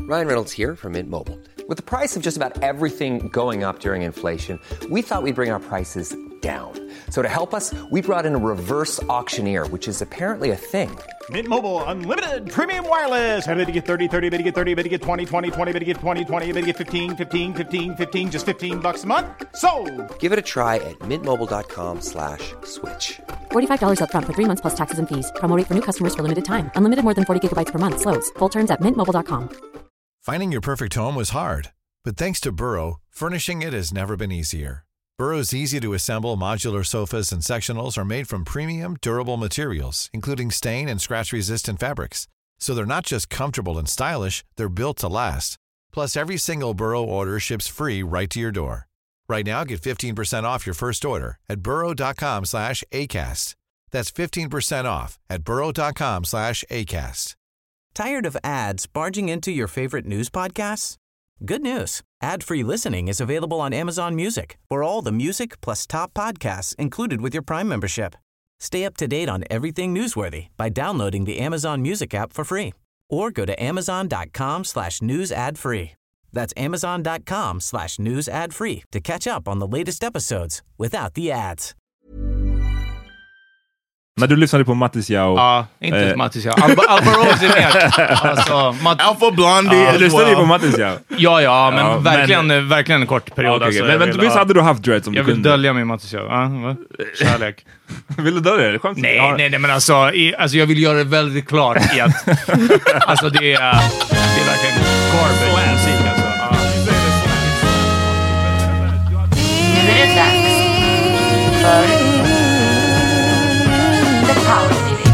Ryan Reynolds here from Mint Mobile. With the price of just about everything going up during inflation, we thought we'd bring our prices down. So to help us, we brought in a reverse auctioneer, which is apparently a thing. Mint Mobile Unlimited Premium Wireless. How to get 30, 30, bit to get 30, bit to get 20, 20, 20, bit to get 20, 20, bit to get 15, 15, 15, 15, just $15 a month? Sold! Give it a try at mintmobile.com/switch. $45 up front for 3 months plus taxes and fees. Promo rate for new customers for limited time. Unlimited more than 40 gigabytes per month. Slows full terms at mintmobile.com. Finding your perfect home was hard, but thanks to Burrow, furnishing it has never been easier. Burrow's easy-to-assemble modular sofas and sectionals are made from premium, durable materials, including stain and scratch-resistant fabrics. So they're not just comfortable and stylish, they're built to last. Plus, every single Burrow order ships free right to your door. Right now, get 15% off your first order at burrow.com/ACAST. That's 15% off at burrow.com/ACAST. Tired of ads barging into your favorite news podcasts? Good news. Ad-free listening is available on Amazon Music for all the music plus top podcasts included with your Prime membership. Stay up to date on everything newsworthy by downloading the Amazon Music app for free or go to amazon.com/news ad free. That's amazon.com/news ad free to catch up on the latest episodes without the ads. När du lyssnade på Mattis Yao... Ja, inte Mattis Yao. Alvaro är mer. Alltså, Alpha Blondie. Du lyssnade ju på Mattis Yao. Ja, men verkligen en kort period. Okay, alltså, men visst hade du haft dreads som jag du vill kunde? dölja mig Mattis Yao. Kärlek. Vill du dölja det? Nej, men alltså jag vill göra det väldigt klart i att alltså det är verkligen garbage musik alltså. Nu är det dags för The Power Meeting.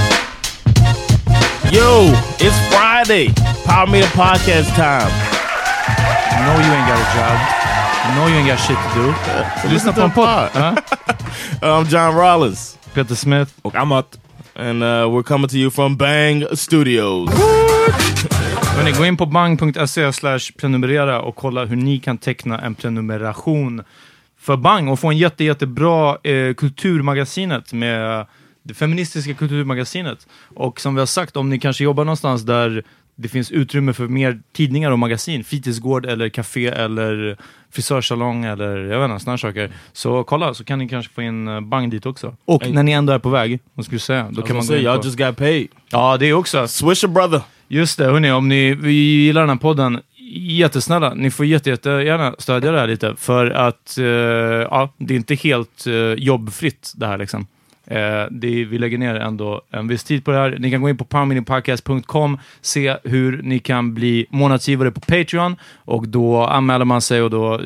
Yo, it's Friday. Power Meeting podcast time. No, you ain't got a job. No, you ain't got shit to do. Lyssna på en podd. I'm John Rollins. Peter Smith. Och Amat. And we're coming to you from Bang Studios. Hörrni, gå in på bang.se/prenumerera och kolla hur ni kan teckna en prenumeration för Bang och få en jättebra kulturmagasinet med det feministiska kulturmagasinet. Och som vi har sagt, om ni kanske jobbar någonstans där det finns utrymme för mer tidningar och magasin, fritidsgård eller café eller frisörsalong eller jag vet inte, såna saker. Så kolla, så kan ni kanske få in Bang dit också. Och när ni ändå är på väg, vad skulle du säga? Då kan man gå in på... Y'all just got paid. Ja, det är också. Swish a brother. Just det, hörni, om ni gillar den här podden, jättesnälla, ni får jättegärna stödja det här lite, för att det är inte helt jobbfritt det här liksom. Vi lägger ner ändå en viss tid på det här. Ni kan gå in på powermeetingpodcast.com, se hur ni kan bli månadsgivare på Patreon, och då anmäler man sig och då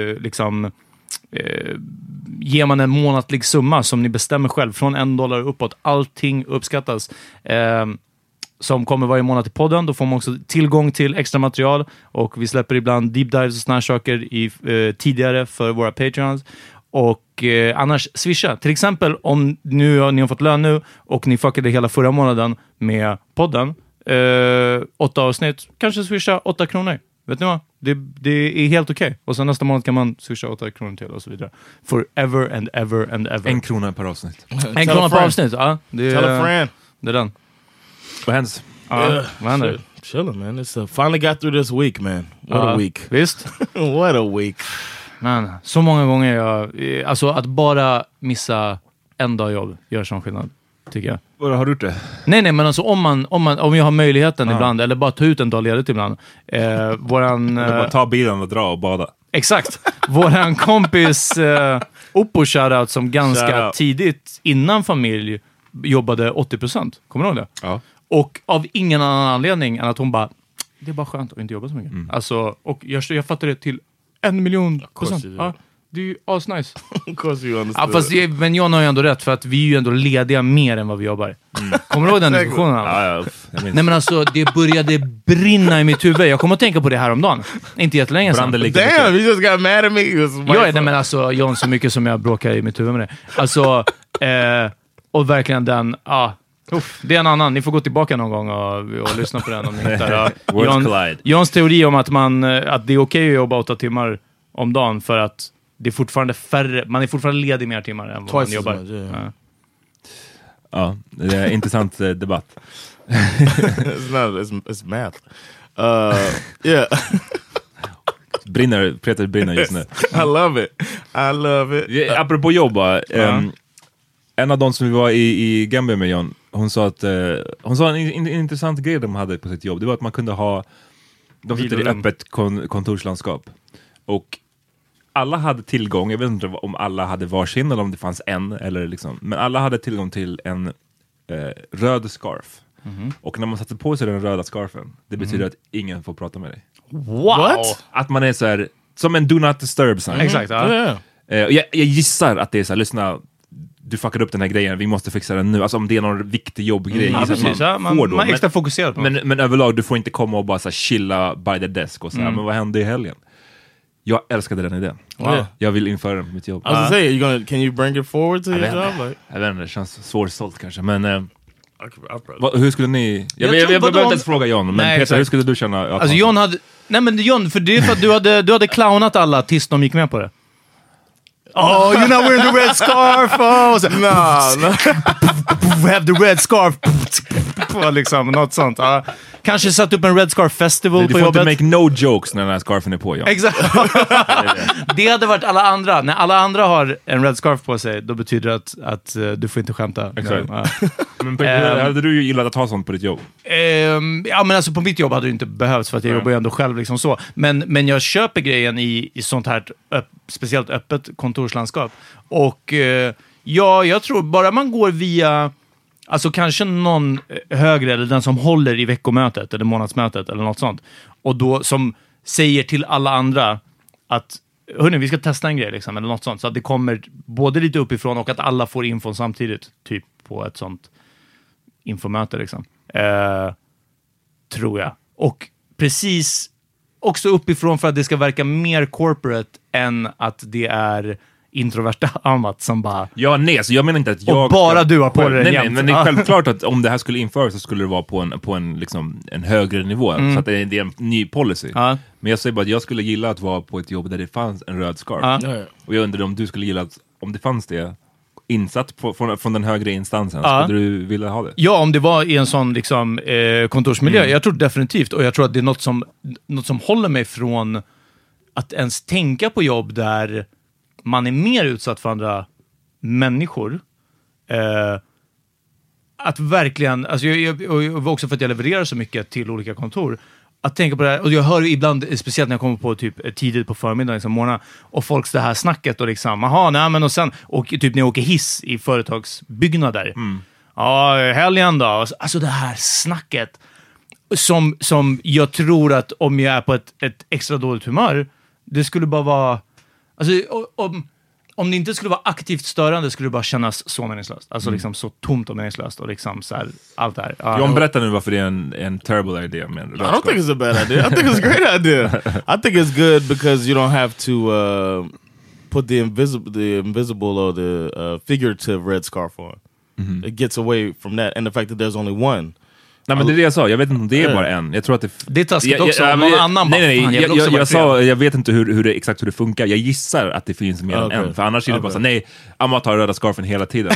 ger man en månatlig summa som ni bestämmer själv, från $1 uppåt. Allting uppskattas. Som kommer varje månad till podden. Då får man också tillgång till extra material, och vi släpper ibland deep dives och såna här saker tidigare för våra Patreons. Och annars swisha. Till exempel om ni har fått lön nu och ni fuckade hela förra månaden med podden, 8 avsnitt, kanske swisha 8 kronor. Vet ni vad? Det är helt okej. Och sen nästa månad kan man swisha 8 kronor till och så vidare. Forever and ever and ever. 1 krona per avsnitt. 1 krona per avsnitt, ja. Tell a friend. Det är den. Vad händer? Vad händer? Chilling, man. It's finally got through this week, man. What a week. Visst? What a week. Man, så många gånger alltså att bara missa en dag jobb gör sån skillnad, tycker jag. Vad har du gjort det? Nej, men alltså om jag har möjligheten ibland, eller bara ta ut en dag ledigt ibland. Bara ta bilen och dra och bada. Exakt. Våran kompis Oppo shoutout, som ganska tidigt innan familj jobbade 80%. Kommer du ihåg det? Ja. Och av ingen annan anledning än att hon bara, det är bara skönt att inte jobba så mycket. Alltså, och jag fattar det till 1,000,000%. Ja, det är ju asnice. Of course you understand. Ja, men John har ju ändå rätt, för att vi är ju ändå lediga mer än vad vi jobbar. Kommer du ihåg den diskussionen? Ja, nej, men alltså, det började brinna i mitt huvud. Jag kommer att tänka på det här om dagen. Inte jättelänge sedan. Damn, you just got mad at me. Nej, men alltså, John, så mycket som jag bråkar i mitt huvud med det. Alltså, och verkligen den, det är en annan. Ni får gå tillbaka någon gång och lyssna på den om ni hittar. Johns teori om att det är okej att jobba 8 timmar om dagen, för att det är fortfarande färre, man är fortfarande ledig mer timmar än vad man jobbar. Ja, det är en intressant debatt. It's math. Yeah. Peter brinner just nu. I love it. Apropå jobba, en av de som vi var i Gambia med John, hon sa en intressant grej de hade på sitt jobb. Det var att man kunde ha, de sitter i öppet kontorslandskap och alla hade tillgång, jag vet inte om alla hade varsin eller om det fanns en eller liksom, men alla hade tillgång till en röd scarf. Och när man satte på sig den röda scarfen, det betyder att ingen får prata med dig. What? Att man är så här, som en do not disturb sign. Exakt, ja. Jag gissar att det är så här, lyssna, du fuckade upp den här grejen, vi måste fixa den nu. Alltså om det är någon viktig jobbgrej. Ja, precis, man är extra fokuserad på. Men överlag, du får inte komma och bara så här, chilla by the desk och så här, men vad hände i helgen? Jag älskade den idén. Wow. Jag vill införa den på mitt jobb. I was gonna say, can you bring it forward to your job? Like? Jag vet inte, det känns svårsålt kanske, men hur skulle ni... Jag tror behöver inte ens fråga John, men Nej, Peter, hur skulle du känna? Alltså John hade... Nej men John, för det är för att du hade clownat alla tills de gick med på det. Oh, you're not wearing the red scarf! Oh, så, have the red scarf! Liksom, något sånt. Kanske satt upp en red scarf festival på jobbet. Du får inte make no jokes när den här scarfen är på, John. Exakt. Det hade varit alla andra. När alla andra har en red scarf på sig, då betyder det att du får inte skämta. Exakt. Men hade du gillat att ha sånt på ditt jobb? Ja, men alltså på mitt jobb hade det inte behövts för att jag jobbar ju ändå själv liksom så. Men jag köper grejen i sånt här speciellt öppet kontorslandskap. Och ja, jag tror bara man går via... Alltså kanske någon högre, eller den som håller i veckomötet eller månadsmötet eller något sånt. Och då som säger till alla andra att hörni, vi ska testa en grej liksom, eller något sånt. Så att det kommer både lite uppifrån och att alla får infon samtidigt. Typ på ett sånt infomöte liksom. Tror jag. Och precis också uppifrån för att det ska verka mer corporate än att det är introverta Amat som bara... Ja, nej, så jag menar inte att jag... Och bara du har på det nej, men det är självklart att om det här skulle införas så skulle det vara på en, liksom, en högre nivå. Så att det är en ny policy. Men jag säger bara att jag skulle gilla att vara på ett jobb där det fanns en röd scarf. Och jag undrar om du skulle gilla att, om det fanns det insatt från den högre instansen, skulle du vilja ha det? Ja, om det var i en sån liksom, kontorsmiljö. Jag tror definitivt, och jag tror att det är något som håller mig från att ens tänka på jobb där man är mer utsatt för andra människor. Att verkligen, alltså och också för att jag levererar så mycket till olika kontor, att tänka på det här, och jag hör ibland, speciellt när jag kommer på typ tidigt på förmiddagen, liksom morgonen, och folks det här snacket och liksom, och sen, och typ när jag åker hiss i företagsbyggnader. Ja, helgen då. Alltså det här snacket som jag tror att om jag är på ett extra dåligt humör, det skulle bara vara... Alltså, om det inte skulle vara aktivt störande skulle det bara kännas så meningslöst. Alltså liksom så tomt och meningslöst och liksom så här, allt det här. John, berätta nu varför det är en terrible idea. Men I don't think it's a bad idea. I think it's a great idea. I think it's good because you don't have to put the invisible or the figurative red scarf on. It gets away from that and the fact that there's only one. Nej, men det är det jag sa. Jag vet inte om det är bara en. Jag tror att det är taskigt också. Någon annan jag vet inte exakt hur det funkar. Jag gissar att det finns mer än en. För annars är det bara så, nej, Amma tar röda scarfen hela tiden.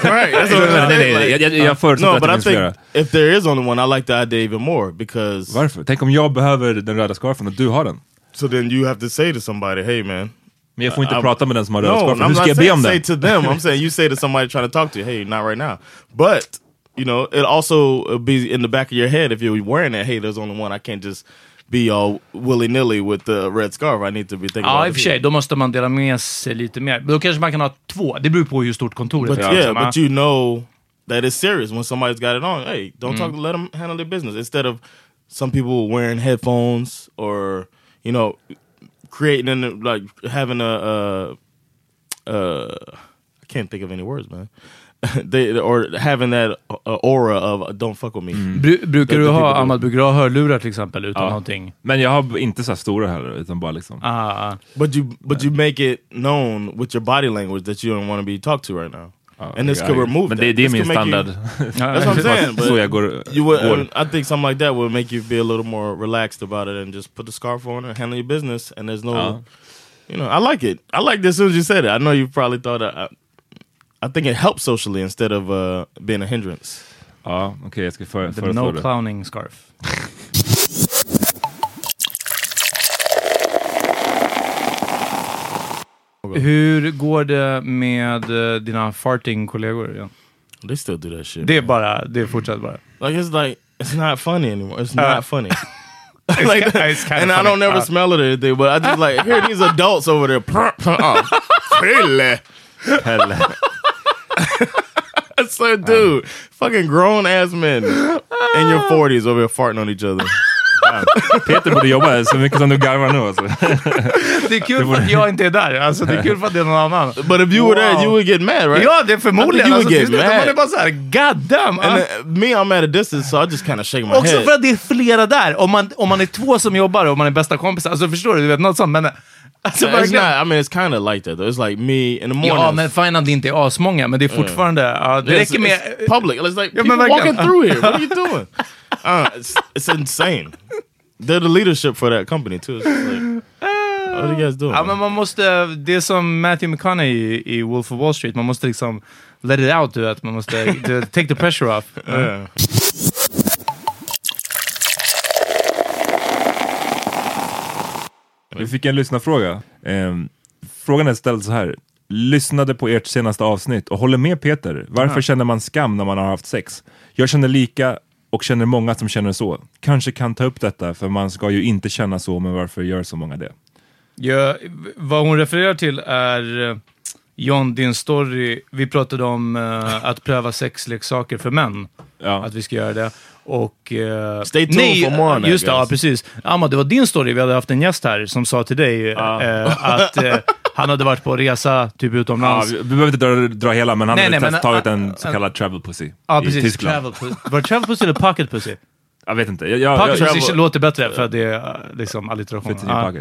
Jag förutsätter att det finns flera. If there is only one, I like the idea even more. Because... Varför? Tänk om jag behöver den röda scarfen och du har den. So then you have to say to somebody, hey man. Men jag får inte prata med den som har röda scarfen. Hur ska jag be om det? Say to them. I'm saying you say to somebody trying to talk to you, hey, not right now. But... You know, it also be in the back of your head if you're wearing it. Hey, there's only one. I can't just be all willy-nilly with the red scarf. I need to be thinking about it. Ja, i och för sig. Då måste man dela med sig lite mer. Men då kanske man kan ha 2. Det beror på hur stort kontoret är. Yeah, but you know that it's serious when somebody's got it on. Hey, don't talk. Let them handle their business. Instead of some people wearing headphones or, you know, creating like having I can't think of any words, man. Or having that aura of don't fuck with me. Brukar du ha hörlurar till exempel utan någonting? Men jag har inte så stora heller utan bara liksom. But you make it known with your body language that you don't want to be talked to right now. And this could remove that. Men det är min standard. That's what I'm saying. Så jag går. I think something like that will make you be a little more relaxed about it and just put the scarf on and handle your business and there's no you know, I like it. I like this as soon as you said it. I know you probably thought I think it helps socially instead of being a hindrance. Ja, okej, jag ska föreslå the no clowning scarf. Hur går det med dina farting-kollegor igen? They still do that shit. Det är fortsatt bara. It's not funny anymore. It's not funny. It's kind and of I don't never smell it or anything, but I just like hear these adults over there. It's like, dude, fucking grown ass men in your 40s over here farting on each other. Peter borde jobba så mycket som du garvar nu alltså. Det är kul för att jag inte är där. Alltså, det är kul för att det är någon annan. But if you were there, you would get mad, right? Ja, det är förmodligen. Alltså, man är bara såhär, god damn. And me, I'm at a distance, so I just kind of shake my head. Också för att det är flera där. Om man är två som jobbar och man är bästa kompisar. Alltså förstår du vet något sånt. Men alltså, it's not, I mean, it's kind of like that though. It's like me in the morning. Ja, men fine att det inte är asmånga. Men det är fortfarande... det räcker med... It's public. It's like people walking through here. What are you doing? It's insane. They're the leadership for that company too. It's like, what are you guys doing? Ja, men man måste, det är som Matthew McConaughey i Wolf of Wall Street. Man måste liksom let it out, du vet. Man måste take the pressure off. Vi fick en lyssnarfråga. Frågan är ställd så här. Lyssnade på ert senaste avsnitt och håller med Peter. Varför känner man skam när man har haft sex? Jag känner lika och känner många som känner så. Kanske kan ta upp detta, för man ska ju inte känna så, men varför gör så många det? Ja, vad hon refererar till är John, din story. Vi pratade om att pröva sexleksaker för män. Ja. Att vi ska göra det. Och... Stay tuned for more on that, just det, ja, precis. Amma, det var din story. Vi hade haft en gäst här som sa till dig att han hade varit på resa typ utomlands. Ja, vi behöver inte dra hela, men han hade tagit en så kallad travel pussy i Tyskland. Var det travel pussy eller pocket pussy? Jag vet inte. Pocket pussy låter bättre för att det är liksom alliteration.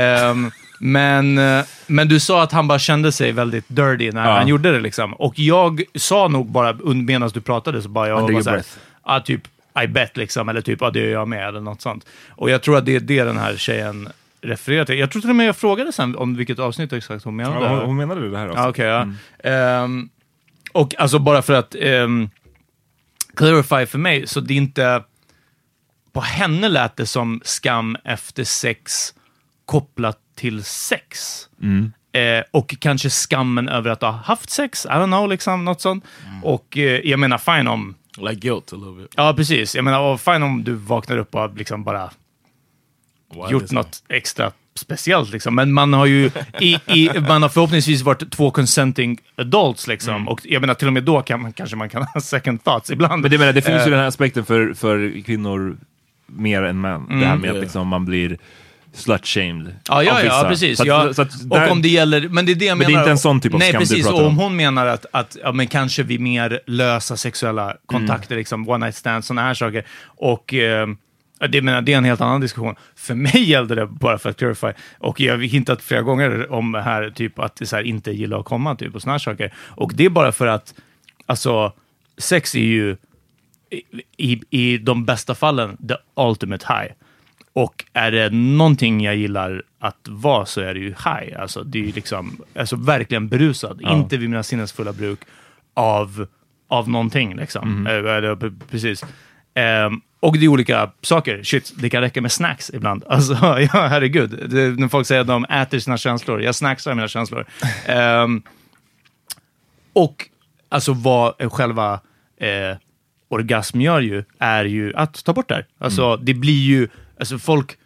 Men du sa att han bara kände sig väldigt dirty när han gjorde det liksom. Och jag sa nog bara medan du pratade så bara jag var såhär, typ I bet liksom, eller typ det gör jag med eller något sånt. Och jag tror att det är det den här tjejen refererar till. Jag tror till och med jag frågade sen om vilket avsnitt exakt hon menade. Ja, hon menade det här också. Okay, och alltså bara för att clarify för mig, så det är inte på henne lät det som skam efter sex kopplat till sex. Och kanske skammen över att ha haft sex. I don't know, liksom något sånt. Och jag menar fine om like guilt a little bit. Ja, precis. Jag menar fine om du vaknar upp och liksom bara gjort något extra speciellt liksom. Men man har ju man har förhoppningsvis varit två consenting adults liksom. Och jag menar till och med då kanske man kan ha second thoughts ibland. Men det finns ju den här aspekten för kvinnor mer än män. Det här med att liksom man blir slut-shamed. Ja, precis. Så att där, och om det gäller, men det är det jag menar. Men det är inte en sån typ av skam precis, du pratar om. om. Hon menar att men kanske vi mer lösa sexuella kontakter, liksom one night stands, såna här saker. Och det är en helt annan diskussion. För mig gällde det bara för att clarify. Och jag har hintat flera gånger om här typ att det så här, inte gillar att komma typ och såna här saker. Och det är bara för att alltså sex är ju i de bästa fallen the ultimate high. Och är det någonting jag gillar att vara, så är det ju high. Alltså det är ju liksom verkligen berusad. Inte vid mina sinnesfulla bruk av någonting liksom. Precis. Och det är olika saker. Shit, det kan räcka med snacks ibland. Alltså, ja, herregud. När folk säger att de äter sina känslor. Jag snacksar mina känslor. Och alltså vad själva orgasm gör ju, är ju att ta bort det här. Alltså det blir ju, alltså folk,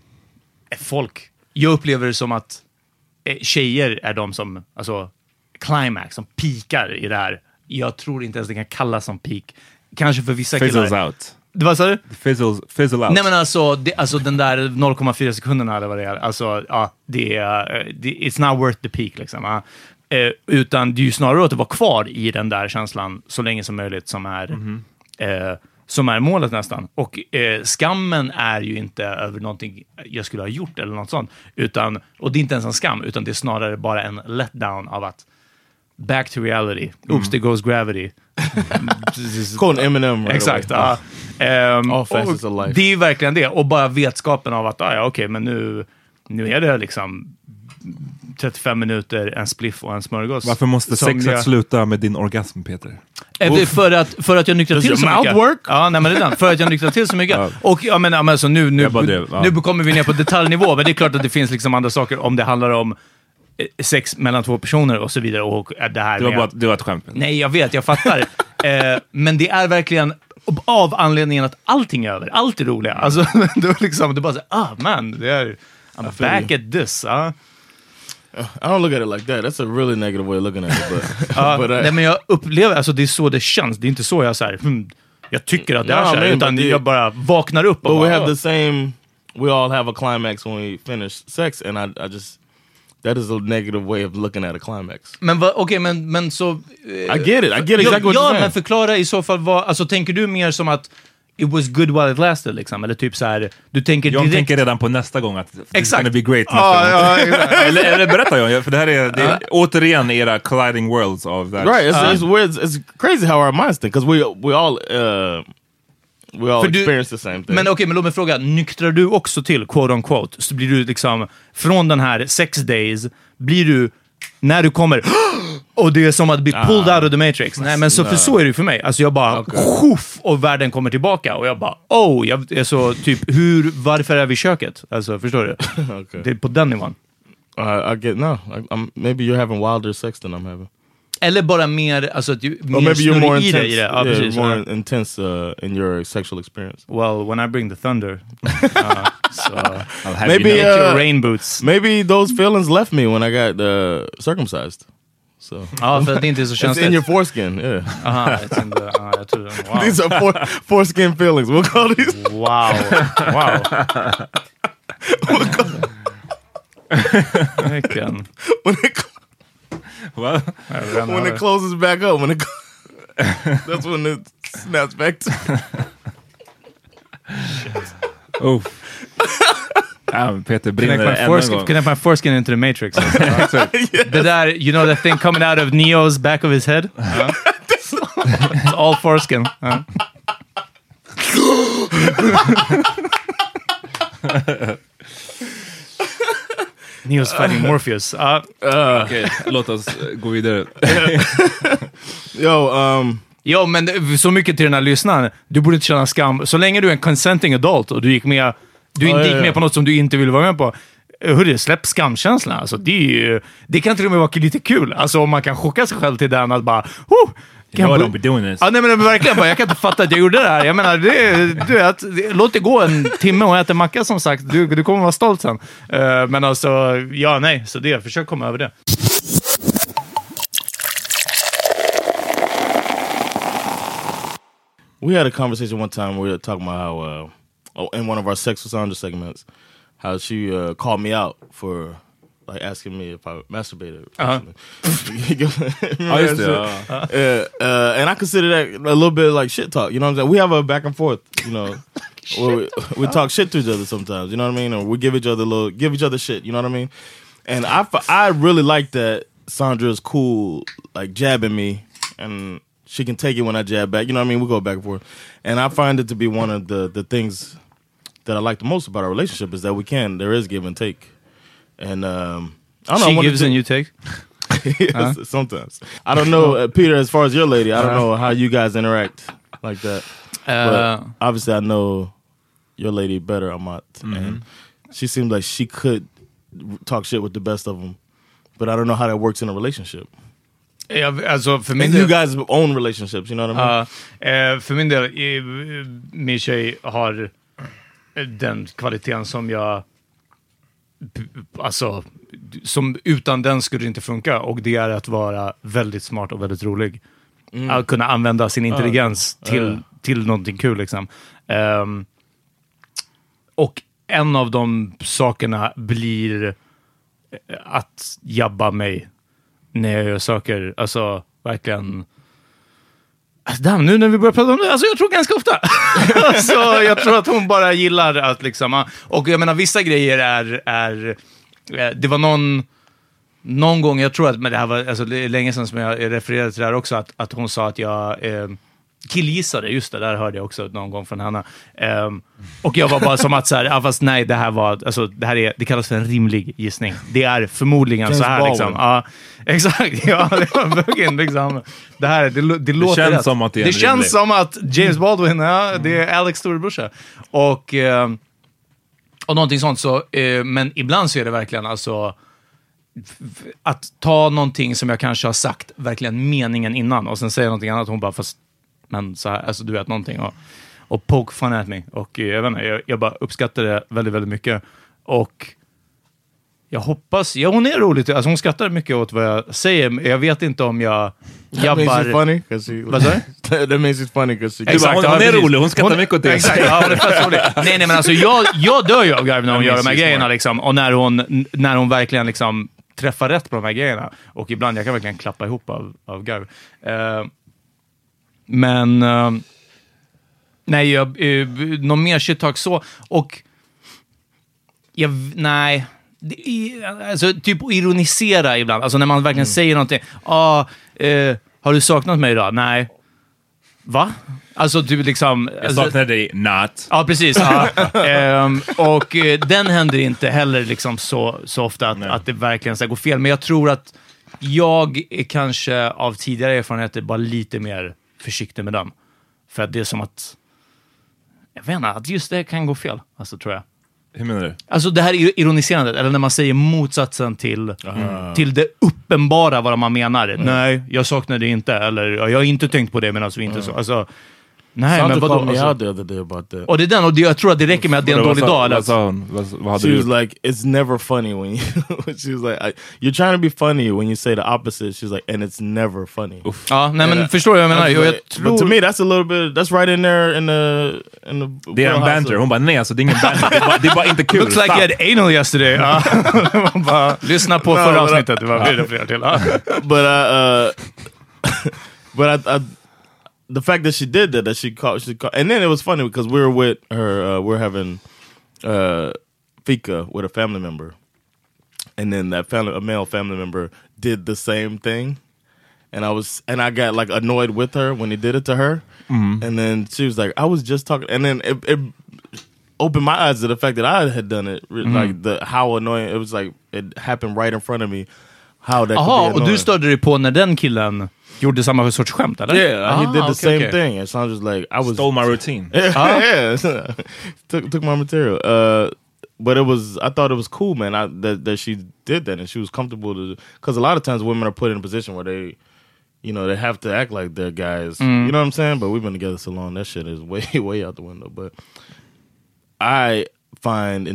jag upplever det som att tjejer är de som, alltså climax, som pikar i det här. Jag tror inte ens det kan kallas som peak. Kanske för vissa killar. Fizzles out. Vad sa du? Fizzle out. Nej men alltså den där 0,4 sekunderna eller vad det är. Alltså ja, it's not worth the peak liksom. Utan det är ju snarare att det var kvar i den där känslan så länge som möjligt som är målet nästan. Och skammen är ju inte över någonting jag skulle ha gjort eller något sånt. Och det är inte ens en skam, utan det är snarare bara en letdown av att back to reality. Oops, there goes gravity. Call Eminem. Right. Exakt. All facets of life. Det är ju verkligen det. Och bara vetskapen av att okej, men nu är det liksom 35 minuter, en spliff och en smörgås. Varför måste sexet sluta med din orgasm, Peter? För att jag nyktrar till så mycket. Ja, nej, men redan. För att jag nyktrar till så mycket. Och jag menar, alltså, nu kommer vi ner på detaljnivå. Men det är klart att det finns liksom andra saker om det handlar om sex mellan två personer och så vidare. Och det här det var ett skämt. Nej, jag vet, jag fattar. Men det är verkligen av anledningen att allting är över. Allt är roliga. Alltså, det är bara så man, I'm back at this. I don't look at it like that. That's a really negative way of looking at it. But, nej, men jag upplever, alltså det är så det känns. Det är inte så jag så här, jag tycker att det är så här, utan jag bara vaknar upp och but bara, we have the same, we all have a climax when we finish sex, and I just, that is a negative way of looking at a climax. Men men så... I get exactly what you're saying. Men förklara i så fall vad, alltså tänker du mer som att it was good while it lasted, liksom? Eller typ så här, du tänker direkt... Jag tänker redan på nästa gång att it's gonna be great nästa gång. Eller berätta jag, för det här är återigen era colliding worlds of that. Right, it's weird, it's crazy how our minds think, because we all experience the same thing. Men okej, men låt mig fråga, nyktrar du också till, quote on quote, så blir du liksom, från den här 6 days, blir du, när du kommer, och det är som att bli pulled out of the Matrix. Nej, men så, för så är det för mig. Alltså jag bara, och världen kommer tillbaka, och jag bara, jag är så typ, varför är vi i köket? Alltså, förstår du? Okay. Det är på den nivån. I get, maybe you're having wilder sex than I'm having. Eller bara mer, alltså att maybe you're more intense, i det. Ja, precis, more intense in your sexual experience. Well, when I bring the thunder, so maybe your rain boots. Maybe those feelings left me when I got circumcised. So för att det inte är så känsligt. It's in your foreskin, yeah. It's in the, jag tror, wow. These are foreskin feelings. We'll call these. Wow. Verkligen. When it closes back up, that's when it snaps back to. Peter brinner connect my foreskin into the Matrix. The där, you know that thing coming out of Neo's back of his head? It's all foreskin. Neo's fighting Morpheus. Okej, låt oss gå vidare. Jo, men så mycket till den här lyssnaren. Du borde inte känna skam. Så länge du är en consenting adult och du inte gick med på något som du inte ville vara med på. Hörru, släpp skamkänslan. Alltså, det kan till och med vara lite kul. Alltså om man kan chocka sig själv till den att bara... don't be doing this. Nej, men verkligen bara, jag kan inte fatta att jag gjorde det här. Jag menar, låt det gå en timme och äta macka, som sagt. Du kommer vara stolt sen. Men alltså, så försök komma över det. We had a conversation one time where we were talking about how, in one of our Sex with Sandra segments, how she called me out for like asking me if I masturbated. And I consider that a little bit like shit talk. You know what I'm saying? We have a back and forth. You know, where we talk shit to each other sometimes. You know what I mean? Or we give each other shit. You know what I mean? And I really like that Sandra's cool, like jabbing me, and she can take it when I jab back. You know what I mean? We go back and forth. And I find it to be one of the things that I like the most about our relationship is that there is give and take. And I don't know. She gives and you take? Yes, sometimes. I don't know, Peter, as far as your lady, I don't know how you guys interact like that. But obviously I know your lady better, Amat. And she seems like she could talk shit with the best of them. But I don't know how that works in a relationship. Alltså för min del, you guys own relationships, you know what I mean? För min del, min tjej har den kvaliteten som jag, alltså, som utan den skulle det inte funka, och det är att vara väldigt smart och väldigt rolig. Att kunna använda sin intelligens till någonting kul, liksom. Och en av de sakerna blir att jabba mig när jag gör saker, alltså verkligen. Alltså, nu när vi börjar prata om det, alltså jag tror ganska ofta. Alltså, jag tror att hon bara gillar att liksom, och jag menar vissa grejer är det var någon gång, jag tror att, men det här var alltså, det är länge sedan som jag refererade till det här också, att hon sa att jag killgissade, just det, där hörde jag också någon gång från henne. Och jag var bara som att så här, fast nej, det här var, alltså det kallas för en rimlig gissning. Det är förmodligen James så här Baldwin. Liksom. Ja, exakt. Ja, det var verkligen liksom. Det låter känns rätt. Som att det känns som att James Baldwin, det är Alex storebrorsa. Och någonting sånt, så men ibland så är det verkligen alltså att ta någonting som jag kanske har sagt verkligen meningen innan och sen säga någonting annat, hon bara, fast men så här, alltså du vet någonting och poke fun at me, och jag vet inte, jag bara uppskattar det väldigt, väldigt mycket, och jag hoppas, hon är rolig, alltså hon skrattar mycket åt vad jag säger, men jag vet inte om jag That makes it funny, that makes it funny because exakt, hon är rolig, hon skrattar mycket åt det. Exakt, ja, hon är fett rolig. Nej, men alltså jag dör ju av garv när hon gör de här grejerna liksom, och när hon verkligen liksom träffar rätt på de här grejerna, och ibland jag kan verkligen klappa ihop av garv. Men nej, någon mer shit talk så, och nej, alltså typ att ironisera ibland, alltså när man verkligen säger någonting, har du saknat mig idag? Nej. Va? Alltså typ liksom... Jag saknar dig, not. Ja, precis. Ja. Och den händer inte heller liksom så ofta att det verkligen ska gå fel. Men jag tror att jag är kanske av tidigare erfarenheter bara lite mer försiktig med den. För att det är som att... Jag vet inte, att just det kan gå fel. Alltså, tror jag. Hur menar du? Alltså det här ironiserandet, eller när man säger motsatsen till det uppenbara vad man menar. Nej, jag saknar det inte, eller jag har inte tänkt på det, men alltså inte så. Alltså, nej, Sandra men vadå? called me out the other day about that. Och det är den, och jag tror att det räcker med att det är en dålig dag. Vad sa hon? Vad hade she du? was like, it's never funny when you... she was like, you're trying to be funny when you say the opposite. She's like, and it's never funny. Ja, nej, men förstår jag vad jag menar. Jag tror... But to me, that's a little bit... That's right in there in the det är en banter. Hon bara, nej, alltså det är ingen banter. Det är bara inte kul. Looks like you had anal yesterday. Bara, lyssna på förra avsnittet. Det var flera till. But the fact that she did that she called, and then it was funny because we were with her, we're having fika with a family member, and then a male family member did the same thing, and I got like annoyed with her when he did it to her, and then she was like, I was just talking, and then it opened my eyes to the fact that I had done it, like how annoying it was, like it happened right in front of me. How that could be annoying. Och du störde dig på när den killen gjorde samma sorts skämt, eller? Yeah, he did the same thing. And so I was just like, stole my routine. Yeah, took my material. But I thought it was cool, man. That she did that and she was comfortable to, because a lot of times women are put in a position where they, they have to act like they're guys. You know what I'm saying? But we've been together so long, that shit is way out the window. But I find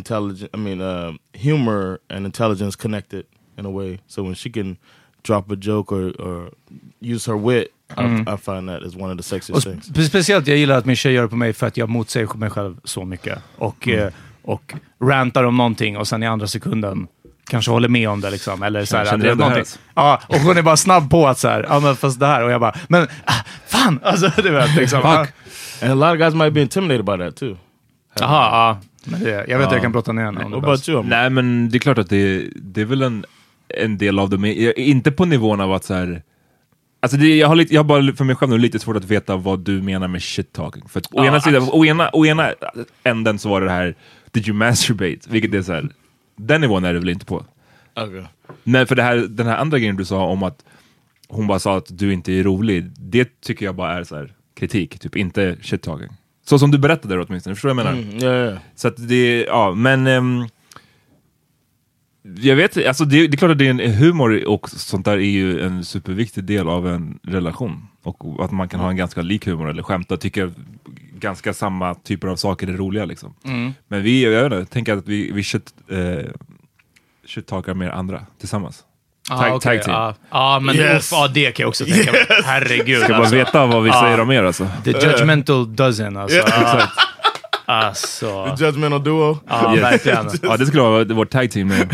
humor and intelligence connected in a way. So when she can drop a joke or use her wit, I find that is one of the sexiest things. Speciellt jag gillar att min tjej gör det på mig för att jag motsäger mig själv så mycket. Och rantar om någonting och sen i andra sekunden kanske håller med om det liksom. Eller så här, det är någonting. Ja, och hon är bara snabb på att så här, ja men fast det här. Och jag bara, men fan! Alltså det vet liksom. Fuck. And a lot of guys might be intimidated by that too. Jaha, ja. Men jag vet att jag kan brotta ner henne om det about you? Nej, men det är klart att det är väl en del av det, inte på nivån av att så här, alltså jag har bara för mig själv nu lite svårt att veta vad du menar med shit talking, för att å ena sidan, å ena änden så var det här, did you masturbate, vilket är så här, den nivån är det väl inte på. Okay. Nej, för den här andra grejen du sa om att hon bara sa att du inte är rolig, det tycker jag bara är så här kritik, typ inte shit talking. Så som du berättade där åtminstone, förstår du vad jag menar? Yeah. Så att det, men jag vet, alltså det är klart att det är en humor och sånt där är ju en superviktig del av en relation. Och att man kan ha en ganska lik humor eller skämta och tycka ganska samma typer av saker är roliga liksom. Men jag tänker att vi should talka med andra tillsammans. Tag team. Men det kan jag också tänka mig. Herregud. Ska bara veta vad vi säger om er alltså. The judgmental dozen alltså. Exakt. Alltså. The judgmental duo. Ja, verkligen. Ja, det skulle vara vårt tag team nu.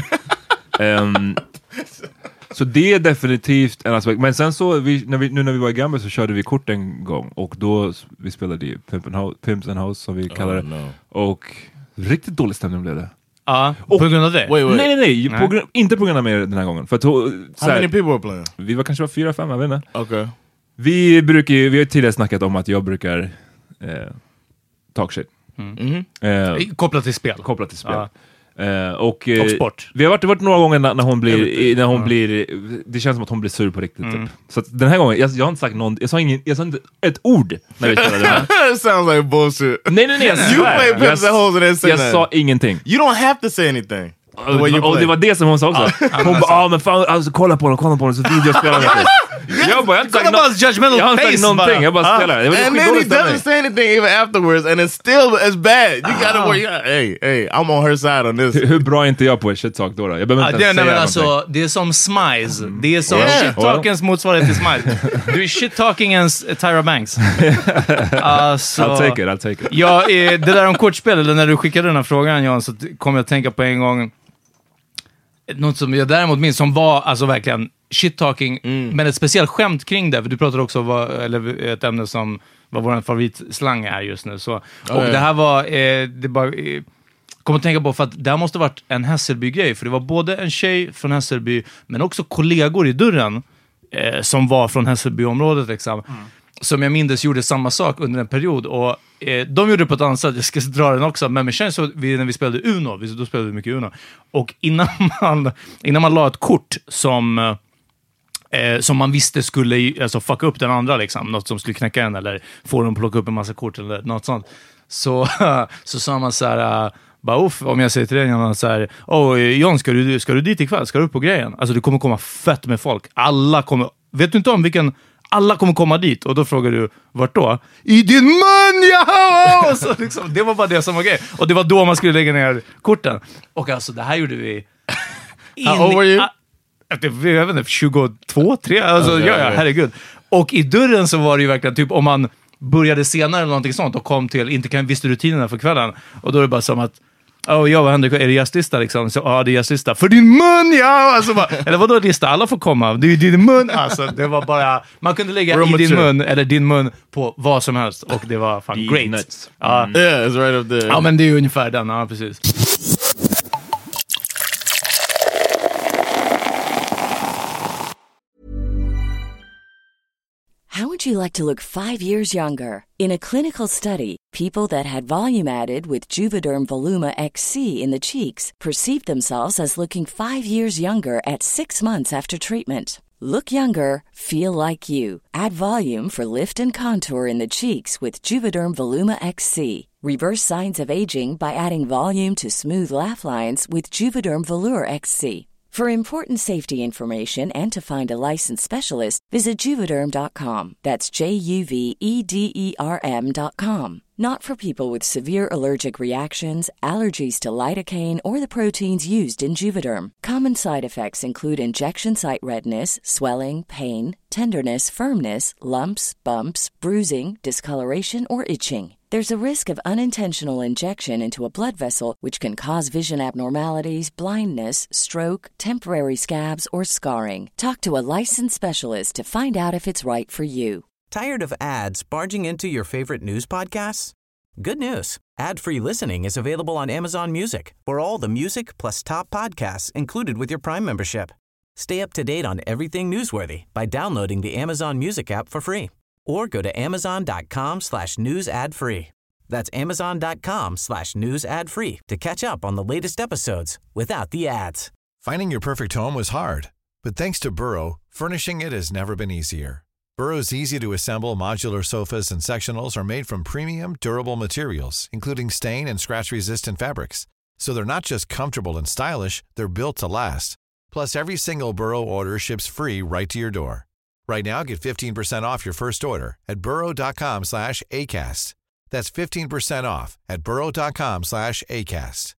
Så det är definitivt en aspekt. Men sen så, när vi var i Gambia så körde vi kort en gång. Och då, vi spelade i Pimps and House som vi kallar det. No. Och riktigt dålig stämning blev det. Ja, på grund av det? Nej. Inte på grund av mig den här gången. För att, how many people were playing? Vi var kanske 4-5, jag vet inte. Okay. Vi har tidigare snackat om att jag brukar talk shit. Kopplat till spel. Och sport. Vi har varit några gånger när hon blir det känns som att hon blir sur på riktigt typ. Så att den här gången jag har inte sagt någon, jag sa inte ett ord när vi spelade det här. It sounds like bullshit. Nej, you play Pimps and Hoes and say jag sa ingenting. You don't have to say anything. Och det var det som hon sa också. Hon bara, men fan, alltså, kolla på honom så videospelar med. Jag bara, jag har inte sagt någonting. Jag bara spelar. And then he doesn't say anything even afterwards, and it's still as bad. You gotta work. Hey, I'm on her side on this. Hur bra är inte jag på shit talk då? Jag behöver inte säga någonting. Alltså, det är som Smize. Det är som shit-talkens motsvarighet till Smize. Du är shit-talkingens Tyra Banks. Alltså, I'll take it. Ja, det där om kortspel, eller när du skickade den här frågan, Jan, så kom jag att tänka på en gång något som jag däremot minns som var alltså verkligen shit-talking, men ett speciellt skämt kring det, för du pratade också om ett ämne som var vår favoritslang är just nu. Så, det här var, det bara kom att tänka på, för att det här måste ha varit en Hässelby-grej, för det var både en tjej från Hässelby, men också kollegor i dörren som var från Hässelby-området liksom. Som jag minns gjorde samma sak under en period, och de gjorde det på ett annat sätt. Jag ska dra den också, men det känns så när vi spelade Uno, då spelade vi mycket Uno, och innan man la ett kort som man visste skulle alltså fucka upp den andra liksom, något som skulle knäcka den eller få dem att plocka upp en massa kort eller något sånt, så sa man så här, bara om jag säger till dig så här, John, ska du dit ikväll? Ska du upp på grejen? Alltså det kommer komma fett med folk. Alla kommer, vet du inte om vilken, alla kommer komma dit, och då frågar du, vart då? I din mun, ja! Så liksom, det var bara det som var grej. Och det var då man skulle lägga ner korten. Och alltså, det här gjorde vi How old were you? Jag vet inte, 22, 3, alltså ja, herregud. Och i dörren så var det ju verkligen typ, om man började senare eller någonting sånt och kom till, inte visste rutinerna för kvällen, och då är det bara som att vad händer? Är det gästlista liksom? Så, det är gästlista. För din mun, ja! Alltså bara, eller vadå lista? Alla får komma. Det är din mun. Alltså, det var bara, man kunde lägga i din mun eller din mun på vad som helst, och det var fan great. Yeah, it's right up there. Ja, men det är ju ungefär den, ja, precis. How would you like to look 5 years younger? In a clinical study, people that had volume added with Juvederm Voluma XC in the cheeks perceived themselves as looking 5 years younger at 6 months after treatment. Look younger, feel like you. Add volume for lift and contour in the cheeks with Juvederm Voluma XC. Reverse signs of aging by adding volume to smooth laugh lines with Juvederm Volure XC. For important safety information and to find a licensed specialist, visit Juvederm.com. That's JUVEDERM.com. Not for people with severe allergic reactions, allergies to lidocaine, or the proteins used in Juvederm. Common side effects include injection site redness, swelling, pain, tenderness, firmness, lumps, bumps, bruising, discoloration, or itching. There's a risk of unintentional injection into a blood vessel, which can cause vision abnormalities, blindness, stroke, temporary scabs, or scarring. Talk to a licensed specialist to find out if it's right for you. Tired of ads barging into your favorite news podcasts? Good news. Ad-free listening is available on Amazon Music for all the music plus top podcasts included with your Prime membership. Stay up to date on everything newsworthy by downloading the Amazon Music app for free. Or go to amazon.com/news ad free. That's amazon.com/news ad free to catch up on the latest episodes without the ads. Finding your perfect home was hard, but thanks to Burrow, furnishing it has never been easier. Burrow's easy-to-assemble modular sofas and sectionals are made from premium, durable materials, including stain and scratch-resistant fabrics. So they're not just comfortable and stylish, they're built to last. Plus, every single Burrow order ships free right to your door. Right now, get 15% off your first order at burrow.com/ACAST. That's 15% off at burrow.com/ACAST.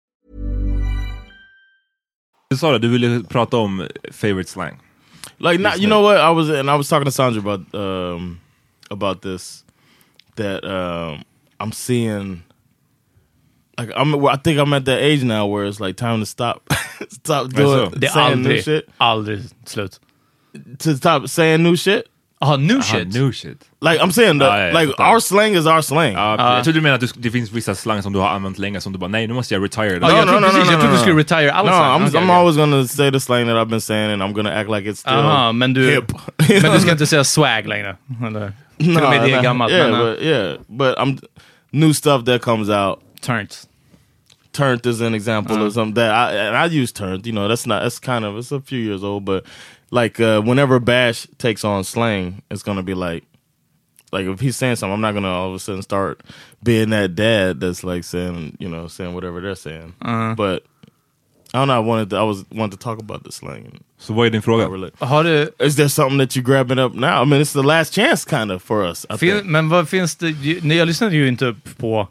Du sa det, du ville prata om favorite slang. Like, not, you know what? I was talking to Sandra about this. That I'm seeing. Like, I think I'm at that age now where it's like time to stop doing saying new shit. Aldrig slut. To stop saying new shit. New shit. Like I'm saying, our slang is our slang. Jag tror du menar att det finns vissa slang som du har använt länge som du bara, nej, nu måste jag retire. No, jag trodde du skulle retire alla slang. I'm always gonna say the slang that I've been saying, and I'm gonna act like it's still men du, hip. Men du ska inte säga swag längre. Eller, till och med det är gammalt. But I'm new stuff that comes out. Turnt is an example of something that I use turnt. You know, it's a few years old, but like whenever Bash takes on slang, it's gonna be like if he's saying something, I'm not gonna all of a sudden start being that dad that's like saying whatever they're saying. But I don't know, I wanted to talk about the slang. Så vad är din fråga? Is there something that you're grabbing up now? I mean, it's the last chance kind of for us. Men vad finns det... Nej, jag lyssnade ju inte på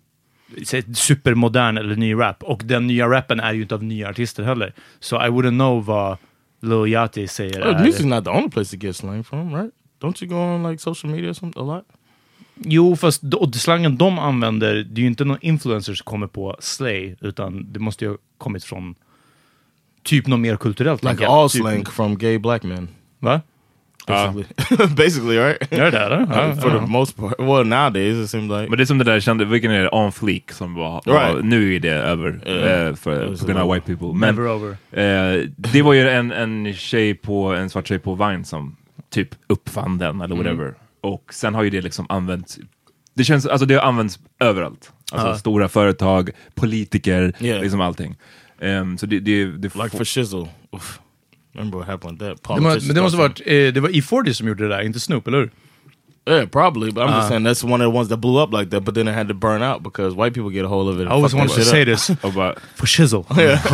supermodern eller ny rap. Och den nya rappen är ju inte av nya artister heller. Så I wouldn't know vad Lil Yachty säger. Music's not the only place to get slang from, right? Don't you go on like social media or something a lot? Jo, fast slangen de använder, det är ju inte någon influencer som kommer på slay, utan det måste ju ha kommit från typ något mer kulturellt. Like all slang from gay black men. Va? Basically, basically, right? Gör det? For the most part. Well, nowadays it seems like. Men det är som det där kände, vilken är det? On Fleek som var nu är det över för på grund av white people. Men never over. Det var ju en svart tjej på Vine som typ uppfann den eller whatever. Och sen har ju det liksom använts. Det känns, alltså det har använts överallt. Alltså stora företag, politiker, liksom allting. Så det like for shizzle. Oof. Remember what happened with that? Men det måste varit det var E40 som gjorde det där, inte Snoop, eller hur? Yeah, probably, but I'm just saying that's one of the ones that blew up like that, but then it had to burn out because white people get a hold of it. I always wanted to say this. For shizzle.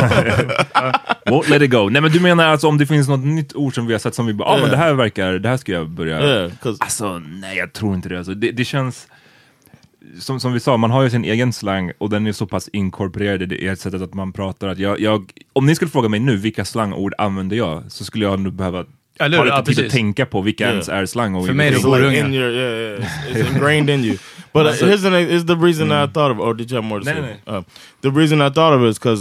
Won't let it go. Nej, men du menar alltså om det finns något nytt ord som vi har sett som vi bara, men det här ska jag börja. Alltså, nej, jag tror inte det. Alltså, det känns som vi sa, man har ju sin egen slang och den är så pass inkorporerad i ett sättet att man pratar att jag om ni skulle fråga mig nu vilka slangord använder jag, så skulle jag nog behöva ta lite tid att tänka på vilka ens är slang. Och för mig det går in your, it's ingrained in you. But here's the reason I thought of, or did you have more to say? The reason I thought of it is because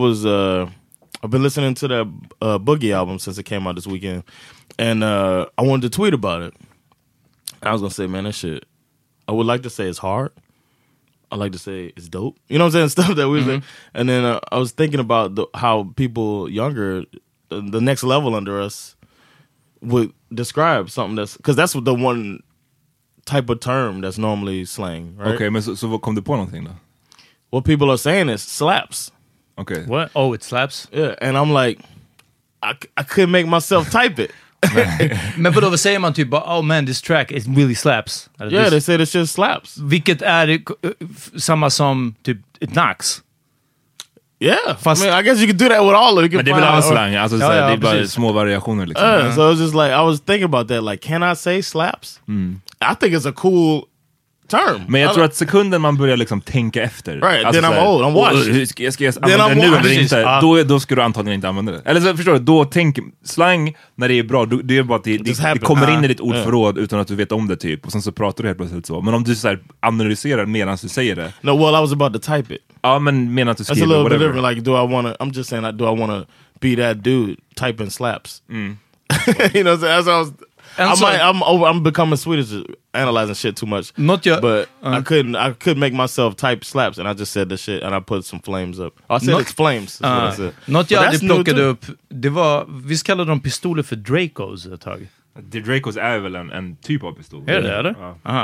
I've been listening to that Boogie album since it came out this weekend, and I wanted to tweet about it. I was gonna say, man, that shit, I would like to say it's hard. I like to say it's dope. You know what I'm saying? Stuff that we say. And then I was thinking about how people younger, the next level under us, would describe something that's... Because that's the one type of term that's normally slang, right? Okay, men så vad kom du på någonting då? What people are saying is slaps. Okay. What? Oh, it slaps? Yeah, and I'm like, I couldn't make myself type it. Men vad säger man typ, oh man, this track it really slaps? Yeah, they say this shit slaps. Vilket är samma som typ it knocks. Yeah, fast I guess you could do that with all of it. Men det är väl all slang, alltså det är bara små variationer liksom. So it was just like, I was thinking about that, like, can I say slaps? I think it's a cool term. Men jag tror att sekunden man börjar liksom tänka efter, right, alltså then I'm old, I'm washed. Ska jag använda det nu eller inte? Då ska du antagligen inte använda det. Eller så förstår du, då tänk slang när det är bra, det är bara att det kommer in i ditt ordförråd utan att du vet om det typ, och sen så pratar du helt plötsligt så. Men om du så här analyserar medan du säger det. No, well, I was about to type it. Ja, men menar att du skriver whatever. That's a little bit different, like, I'm just saying, like, do I want to be that dude typing slaps? You know what I'm saying? I'm becoming Swedish, analyzing shit too much. But I couldn't make myself type slaps, and I just said the shit, and I put some flames up. I said it's flames. What I said. Något jag hade plockat upp, det var, visst kallade de pistoler för Dracos ett tag? The Dracos är väl en typ av pistol. Är det eller?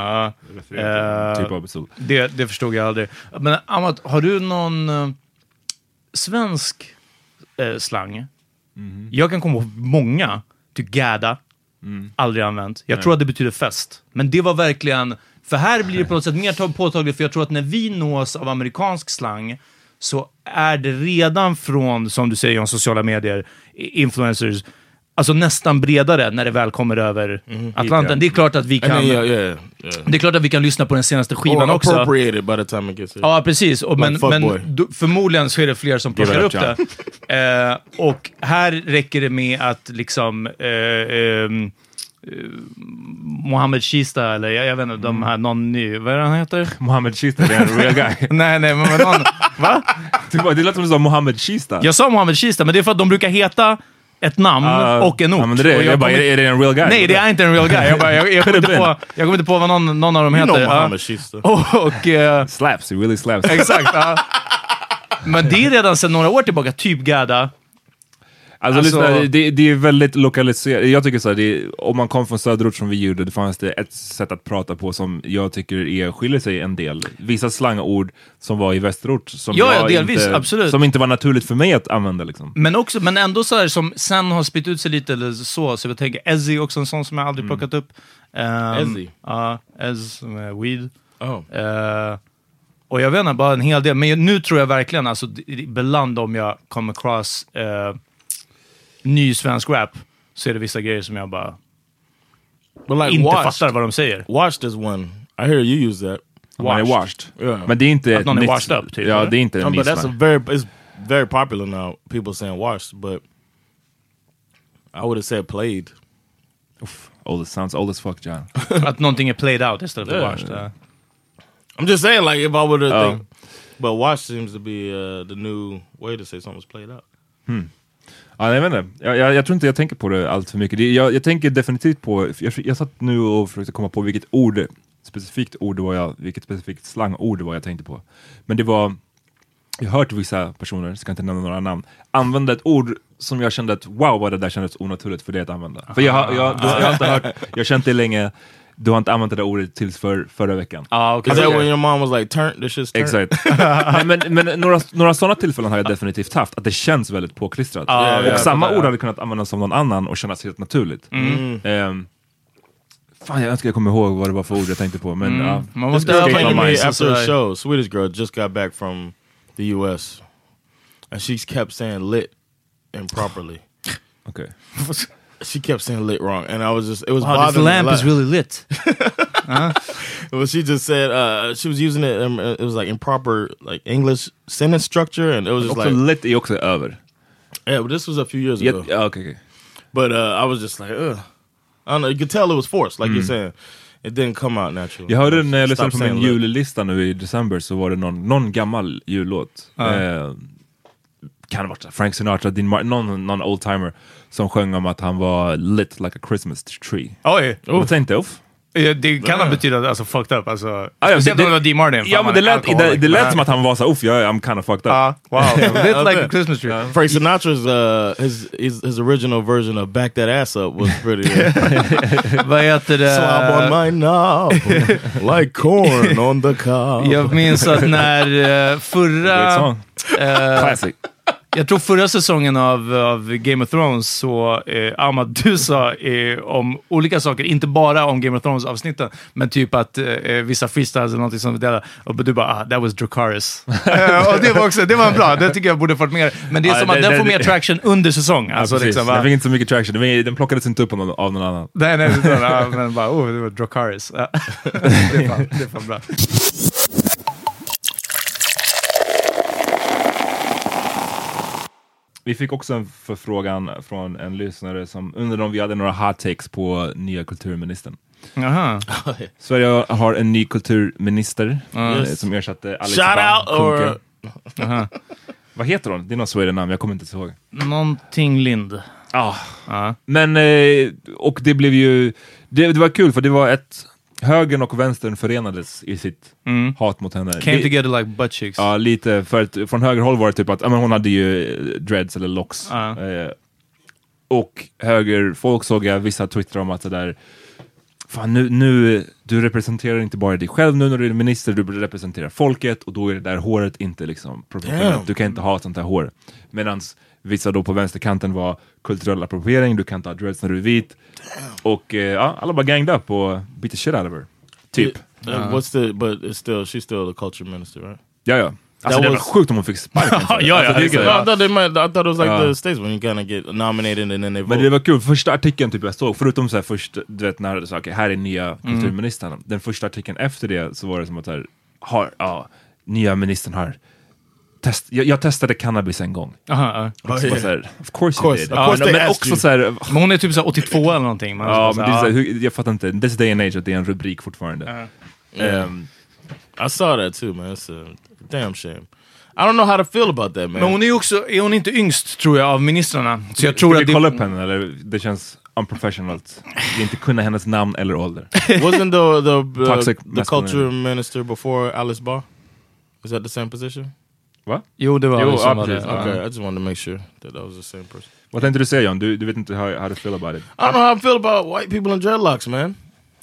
Ja. Typ av pistol. Det förstod jag aldrig. Men Amat, har du någon svensk slang? Jag kan komma på många. Typ gädda. Aldrig använt. Jag tror att det betyder fest. Men det var verkligen... För här blir det på något sätt mer påtagligt. För jag tror att när vi nås av amerikansk slang så är det redan från, som du säger om sociala medier, influencers, alltså nästan bredare när det väl kommer över Atlanten. Det är klart att vi kan det är klart att vi kan lyssna på den senaste skivan också. Appropriated by the time it gets here. Ja, precis. Och men förmodligen så är det fler som plockar upp det. Och här räcker det med att liksom Mohammed Shista, eller jag vet inte, de här, någon ny, vad är det han heter? Mohammed Shista, det är en real guy. nej, men någon, va? Det låter som du sa Mohammed Shista. Jag sa Mohammed Shista, men det är för att de brukar heta ett namn och en ort. Ja, men är det en real guy? Nej, det är inte en real guy. Jag kommer inte på vad någon av dem heter. Mohammed Shista. Och slaps, it really slaps. Exakt. Men det är redan sedan några år tillbaka typ gädda. Alltså det är väldigt lokaliserat. Jag tycker så här, om man kom från söderort som vi gjorde, det fanns det ett sätt att prata på som jag tycker skiljer sig en del. Vissa slangord som var i västerort som delvis, absolut. Som inte var naturligt för mig att använda liksom. Men ändå så här, som sen har spytt ut sig lite eller så jag tänker Ezzy också, en sån som jag aldrig plockat upp. Ezzy? Ez med weed. Och jag vet inte, bara en hel del. Men nu tror jag verkligen, alltså ibland om jag kommer across ny svensk rap, så är det vissa grejer som jag bara inte fattar vad de säger. Washed is one. I hear you use that. Washed. Yeah. Men det är inte att någon är washed up, typ. Ja, det är inte en but that's it's very popular now. People saying washed, but I would have said played. Sounds old as fuck, John. Att någonting är played out istället för washed. I'm just saying, like, if I would have think, but washed seems to be the new way to say something's played out. Ja, jag vet inte. Jag tror inte jag tänker på det allt för mycket. Jag tänker definitivt på, jag satt nu och försökte komma på vilket specifikt slangord det var jag tänkte på. Men det var, jag har hört vissa personer, ska inte nämna några namn, använda ett ord som jag kände att wow, vad det där kändes onaturligt för det att använda. För jag har inte hört, jag har känt det länge. Du har inte använt det där ordet tills förra veckan. Okay. Is that when your mom was like, turn, this shit's turn? Exakt. men några sådana tillfällen har jag definitivt haft. Att det känns väldigt påklistrat. Och samma ord hade kunnat användas som någon annan och kännas helt naturligt. Fan, jag önskar jag kommer ihåg vad det var för ord jag tänkte på. Men man måste after a show, Swedish girl just got back from the US. And she kept saying lit improperly. Okay. She kept saying lit wrong, and I was just, it was bothering me. This lamp is really lit. Well, she just said she was using it. It was like improper, like English sentence structure, and it was just like lit är också över. Yeah, but this was a few years ago. Okay. But I was just like, I don't know. You could tell it was forced, like you're saying. It didn't come out naturally. Jag hörde när jag lyssnade på min jullista nu i december, så var det någon gammal jullåt. Kan det vara Frank Sinatra, Dean Martin, någon oldtimer som sjöng om att han var lit like a Christmas tree. Oj! Jag tänkte, det kan betyda alltså fucked up, alltså. Det var Dean Martin. Ja, men det lät som att han var så I'm kind of fucked up. Wow. Lit like a Christmas tree. Frank Sinatra's his original version of Back That Ass Up was pretty vad heter det? Slob on my knob like corn on the cob. Jag minns att när förra classic. Jag tror förra säsongen av Game of Thrones så Ahmad, du sa om olika saker, inte bara om Game of Thrones avsnitten, men typ att vissa freestyles eller någonting som det och du bara, that was Dracarys. Och det var bra, det tycker jag borde fått mer. Men det är som att den får mer traction under säsong. Alltså, liksom, den fick inte så mycket traction, den plockades inte upp av någon annan. Nej, men bara, det var Dracarys. Det är fan bra. Vi fick också en förfrågan från en lyssnare som undrade om vi hade några hot takes på nya kulturministern. Aha. Sverige har en ny kulturminister som ersatte Alice Kunke. Vad heter hon? Det är någon Sweden-namn, jag kommer inte ihåg. Någonting Lind. Men, och det blev ju, det var kul för det var högern och vänstern förenades i sitt hat mot henne. Came together like butt cheeks. Ja, lite. För att från högerhåll var det typ att hon hade ju dreads eller locks. Och högerfolk såg jag vissa twittrar om att det där, fan nu du representerar inte bara dig själv nu när du är minister, du representerar folket, och då är det där håret inte liksom professionellt. Du kan inte ha sånt här hår. Medans vissa då på vänsterkanten var kulturell appropriering, du kan inte ha dreads när du är vit. Och alla bara ganged up och beat the shit out of her. Typ. But she's still the culture minister, right? Ja. Alltså det var sjukt om hon fick sparken. I thought it was like the States when you kind of get nominated and then they vote. Men det var kul, första artikeln typ jag såg, förutom så här först, du vet när det sa här är nya kulturministern. Den första artikeln efter det så var det som att nya ministern har jag testade cannabis en gång. Of course you did. Men också så här, men hon är typ så 82 eller någonting. Men det är så, jag fattar inte. This day and age att det är en rubrik fortfarande. I saw that too, man. It's a damn shame. I don't know how to feel about that, man. Men hon är också, är hon inte yngst tror jag av ministrarna? Så jag tror att kolla upp henne, eller det känns unprofessional. Vi inte kunna hennes namn eller ålder. Wasn't the culture minister before Alice Bah? Is that the same position? Va? Jo, det var Okay, I just wanted to make sure that was the same person. Vad tänkte du säga, John? Du vet inte how to feel about it. I don't know how I feel about white people in dreadlocks, man.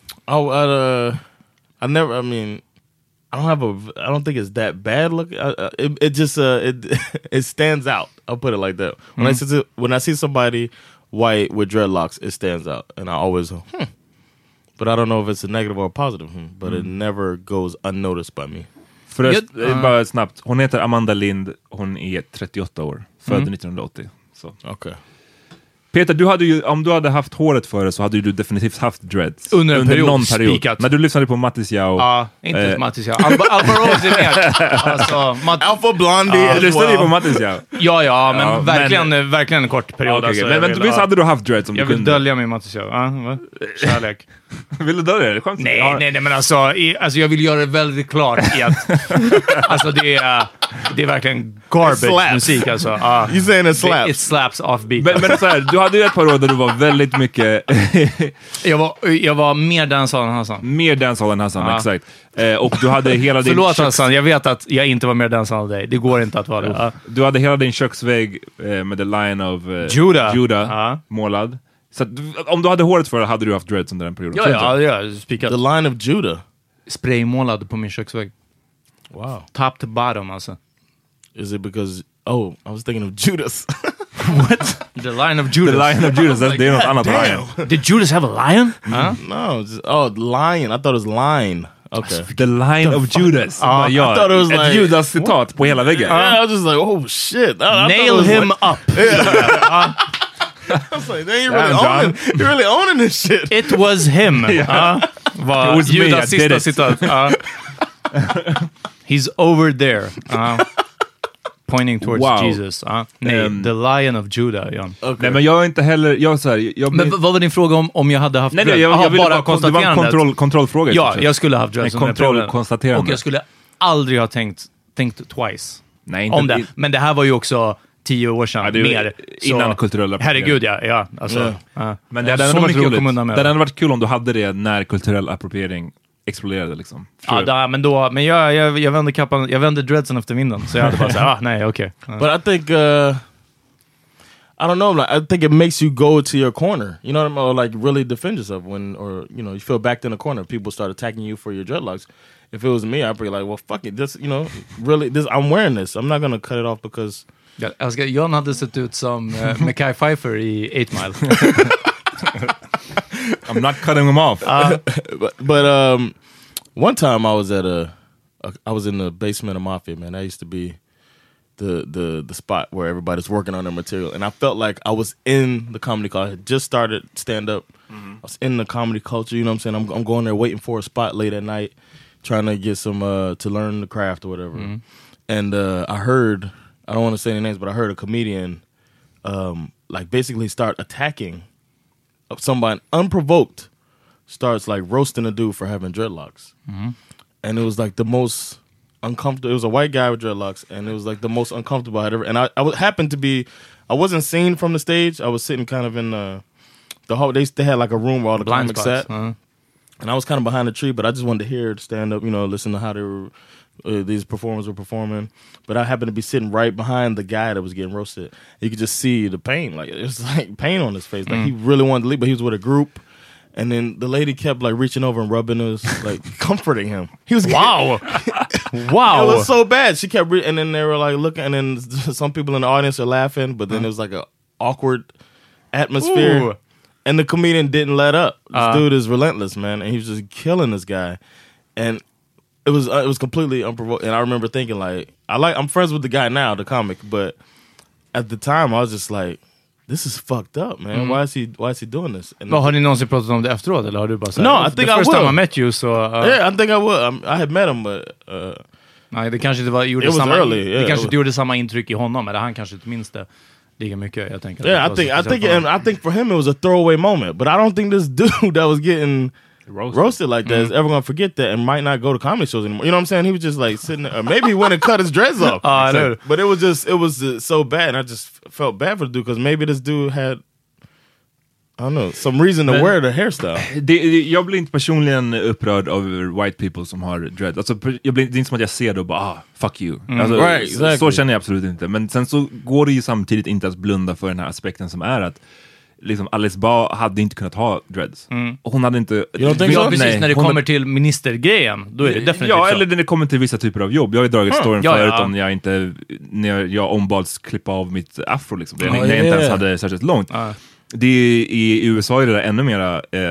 I don't think it's that bad look. It just it stands out. I'll put it like that. When I see somebody white with dreadlocks, it stands out, and I always But I don't know if it's a negative or a positive. But it never goes unnoticed by me. bara snabbt. Hon heter Amanda Lind. Hon är 38 år. Född 1980. Så. Okay. Peter, du hade ju, om du hade haft håret före så hade du definitivt haft dreads. Under någon period. Spikat. När du lyssnade på Mattis Yao. Ja, inte Mattis Yao. Alfa Rose är mer. Alltså, Alpha Blondie. Du lyssnade ju på Mattis Yao. Ja, men verkligen en kort period. Okay, alltså, men visst hade du haft dreads om du kunde? Jag vill dölja mig Mattis Yao. Kärlek. Vill du dölja det? Nej, men alltså jag vill göra det väldigt klart i att alltså det är verkligen garbage musik alltså. You saying it slaps? It slaps off beat. Men så här, du hade ju ett par år där du var väldigt mycket... jag var mer dancehall än Hassan. Mer dancehall än Hassan, exakt. Och du hade hela din... Förlåt Hassan, jag vet att jag inte var mer dancehall än dig. Det går inte att vara det. Du hade hela din köksvägg med the line of Judah målad. Så att, om du hade håret för hade du haft dreads under den perioden. Ja, spikat. The line of Judah. Spraymålad på min köksvägg. Wow. Top to bottom alltså. Is it because... Oh, I was thinking of Judas. What? The line of Judas. The line of Judas, det är något annat lion. Did Judas have a lion? No, lion. I thought it was line. Okay. The line of Judas. I thought it was ett Judas-citat på hela väggen. I was just like, oh shit. Nail him up. I was like, you're really owning this shit. It was him. It was Judas me, I did sista it. citat. He's over there. Pointing towards Jesus. Nej, the lion of Judah. Okay. Nej, men jag är inte heller... Men vad var din fråga om jag hade haft dreads? Nej, jag ville bara konstatera. Det var en kontrollfråga. Ja, jag skulle ha haft dreads. Kontrollkonstaterande. Och jag skulle aldrig ha tänkt twice. Nej, inte om det. Men det här var ju också 10 år sedan, mer. Innan kulturella herregud, ja. Alltså, men det hade varit roligt. Det hade varit kul om du hade det när kulturell appropriering exploderade liksom. Men jag vände kappan, jag vände dreadsen efter vinden. Så jag hade bara såhär, nej, okej. But I think, I don't know, like, I think it makes you go to your corner. You know what I mean? Or like really defend yourself when, or you know, you feel backed in a corner. People start attacking you for your dreadlocks. If it was me, I'd be like, well, fuck it. This, you know, really, I'm wearing this. I'm not gonna cut it off because... John hade sett ut som Mekhi Phifer i 8 Mile. I'm not cutting them off. But one time I was at I was in the basement of Mafia, man. That used to be the spot where everybody's working on their material, and I felt like I was in the comedy culture. I had just started stand up. I was in the comedy culture. You know what I'm saying? I'm going there waiting for a spot late at night, trying to get some to learn the craft or whatever. And I heard, I don't want to say any names, but I heard a comedian like basically start attacking somebody unprovoked, starts like roasting a dude for having dreadlocks. And it was like the most uncomfortable. It was a white guy with dreadlocks, and it was like the most uncomfortable I had ever. And I happened to be, I wasn't seen from the stage. I was sitting kind of in the hall. They had like a room where all the comics sat, and I was kind of behind the tree. But I just wanted to hear it stand up, you know, listen to how they were, these performers were performing. But I happened to be sitting right behind the guy that was getting roasted. You could just see the pain, like it was like pain on his face. Like he really wanted to leave, but he was with a group. And then the lady kept like reaching over and rubbing us, like comforting him. He was wow. It was so bad. She kept, and then they were like looking, and then some people in the audience are laughing, but then it was like an awkward atmosphere. Ooh. And the comedian didn't let up. This dude is relentless, man, and he was just killing this guy. And it was completely unprovoked. And I remember thinking like, I'm friends with the guy now, the comic, but at the time I was just like, this is fucked up, man. Why is he doing this? And har ni någonsin pratat om det efteråt, eller har du bara sagt? No, I think I will. The first time I met you, so... yeah, I think I would. I had met him, but... nej, det kanske inte gjorde samma... Early, yeah, det kanske inte gjorde samma intryck i honom, eller han kanske inte minns det lika mycket, jag tänker. Yeah, I think for him it was a throwaway moment, but I don't think this dude that was getting roasted like that is ever gonna forget that and might not go to comedy shows anymore. You know what I'm saying? He was just like sitting there, or maybe he went and cut his dreads off. But it was so bad, and I just felt bad for the dude because maybe this dude had, I don't know, some reason to wear the hairstyle. Jag blir inte personligen upprörd över white people som har dread. Alltså, det är inte som att jag ser det och bara, fuck you. Alltså, right, exactly. Så känner jag absolut inte. Men sen så går det ju samtidigt inte att blunda för den här aspekten som är att liksom Alice Ba hade inte kunnat ha dreads. Och hon hade inte... precis, när det kommer till ministergrejen, då är det definitivt så. Eller när det kommer till vissa typer av jobb. Jag har ju dragit storyn förut om när jag ombads klippa av mitt afro liksom. När jag inte ens hade särskilt långt. I USA är det där ännu mera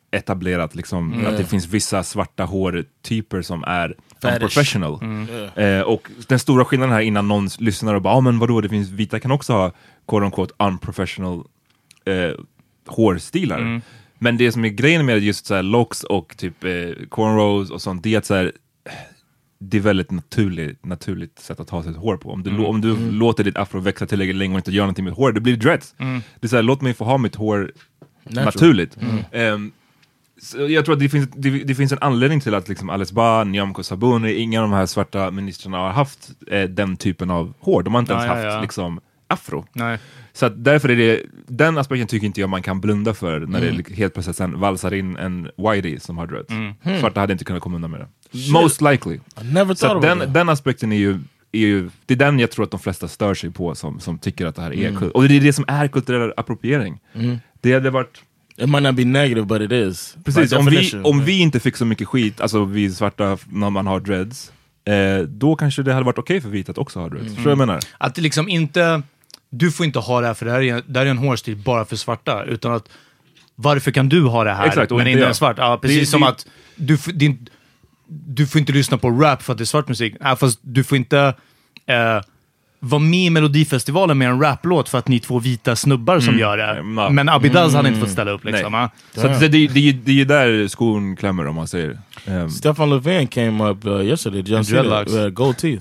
etablerat liksom, att det finns vissa svarta hårtyper som är unprofessional. Och den stora skillnaden här innan någon lyssnar och bara, men vadå, det finns vita kan också ha quote unquote unprofessional hårstilar. Men det som är grejen med just så här locks och typ cornrows och sånt, det är att så här, det är väldigt naturligt sätt att ha sitt hår på. Om du låter ditt afro växa tillräckligt länge och inte gör någonting med hår, det blir dreads. Det är så här, låt mig få ha mitt hår naturligt. Så jag tror att det finns en anledning till att liksom Alice Bah, Nyamko Sabuni, inga av de här svarta ministrarna har haft den typen av hår. De har inte ens haft liksom afro. Nej. Så att därför är det, den aspekten tycker inte jag man kan blunda för när det helt plötsligt sen valsar in en whitey som har dreads. Svarta hade inte kunnat komma undan med det. Shit. Most likely. Så den aspekten är ju, det är den jag tror att de flesta stör sig på som tycker att det här är och det är det som är kulturell appropriering. Det hade varit it might not be negative, but it is. Precis, om vi inte fick så mycket skit, alltså vi svarta när man har dreads, då kanske det hade varit okej för vita att också ha dreads. Så jag menar. Att det liksom inte, du får inte ha det här för det här är en hårstil bara för svarta, utan att varför kan du ha det här? Exakt, men inte en svart? Ja, precis som att du får inte lyssna på rap för att det är svart musik. Fast du får inte vara med i Melodifestivalen med en raplåt för att ni två vita snubbar som gör det. Men Abidaz hade inte fått ställa upp liksom. Så det är ju där skon klämmer om man säger. Stefan Löfven came up yesterday. Dreadlocks. Gold teeth.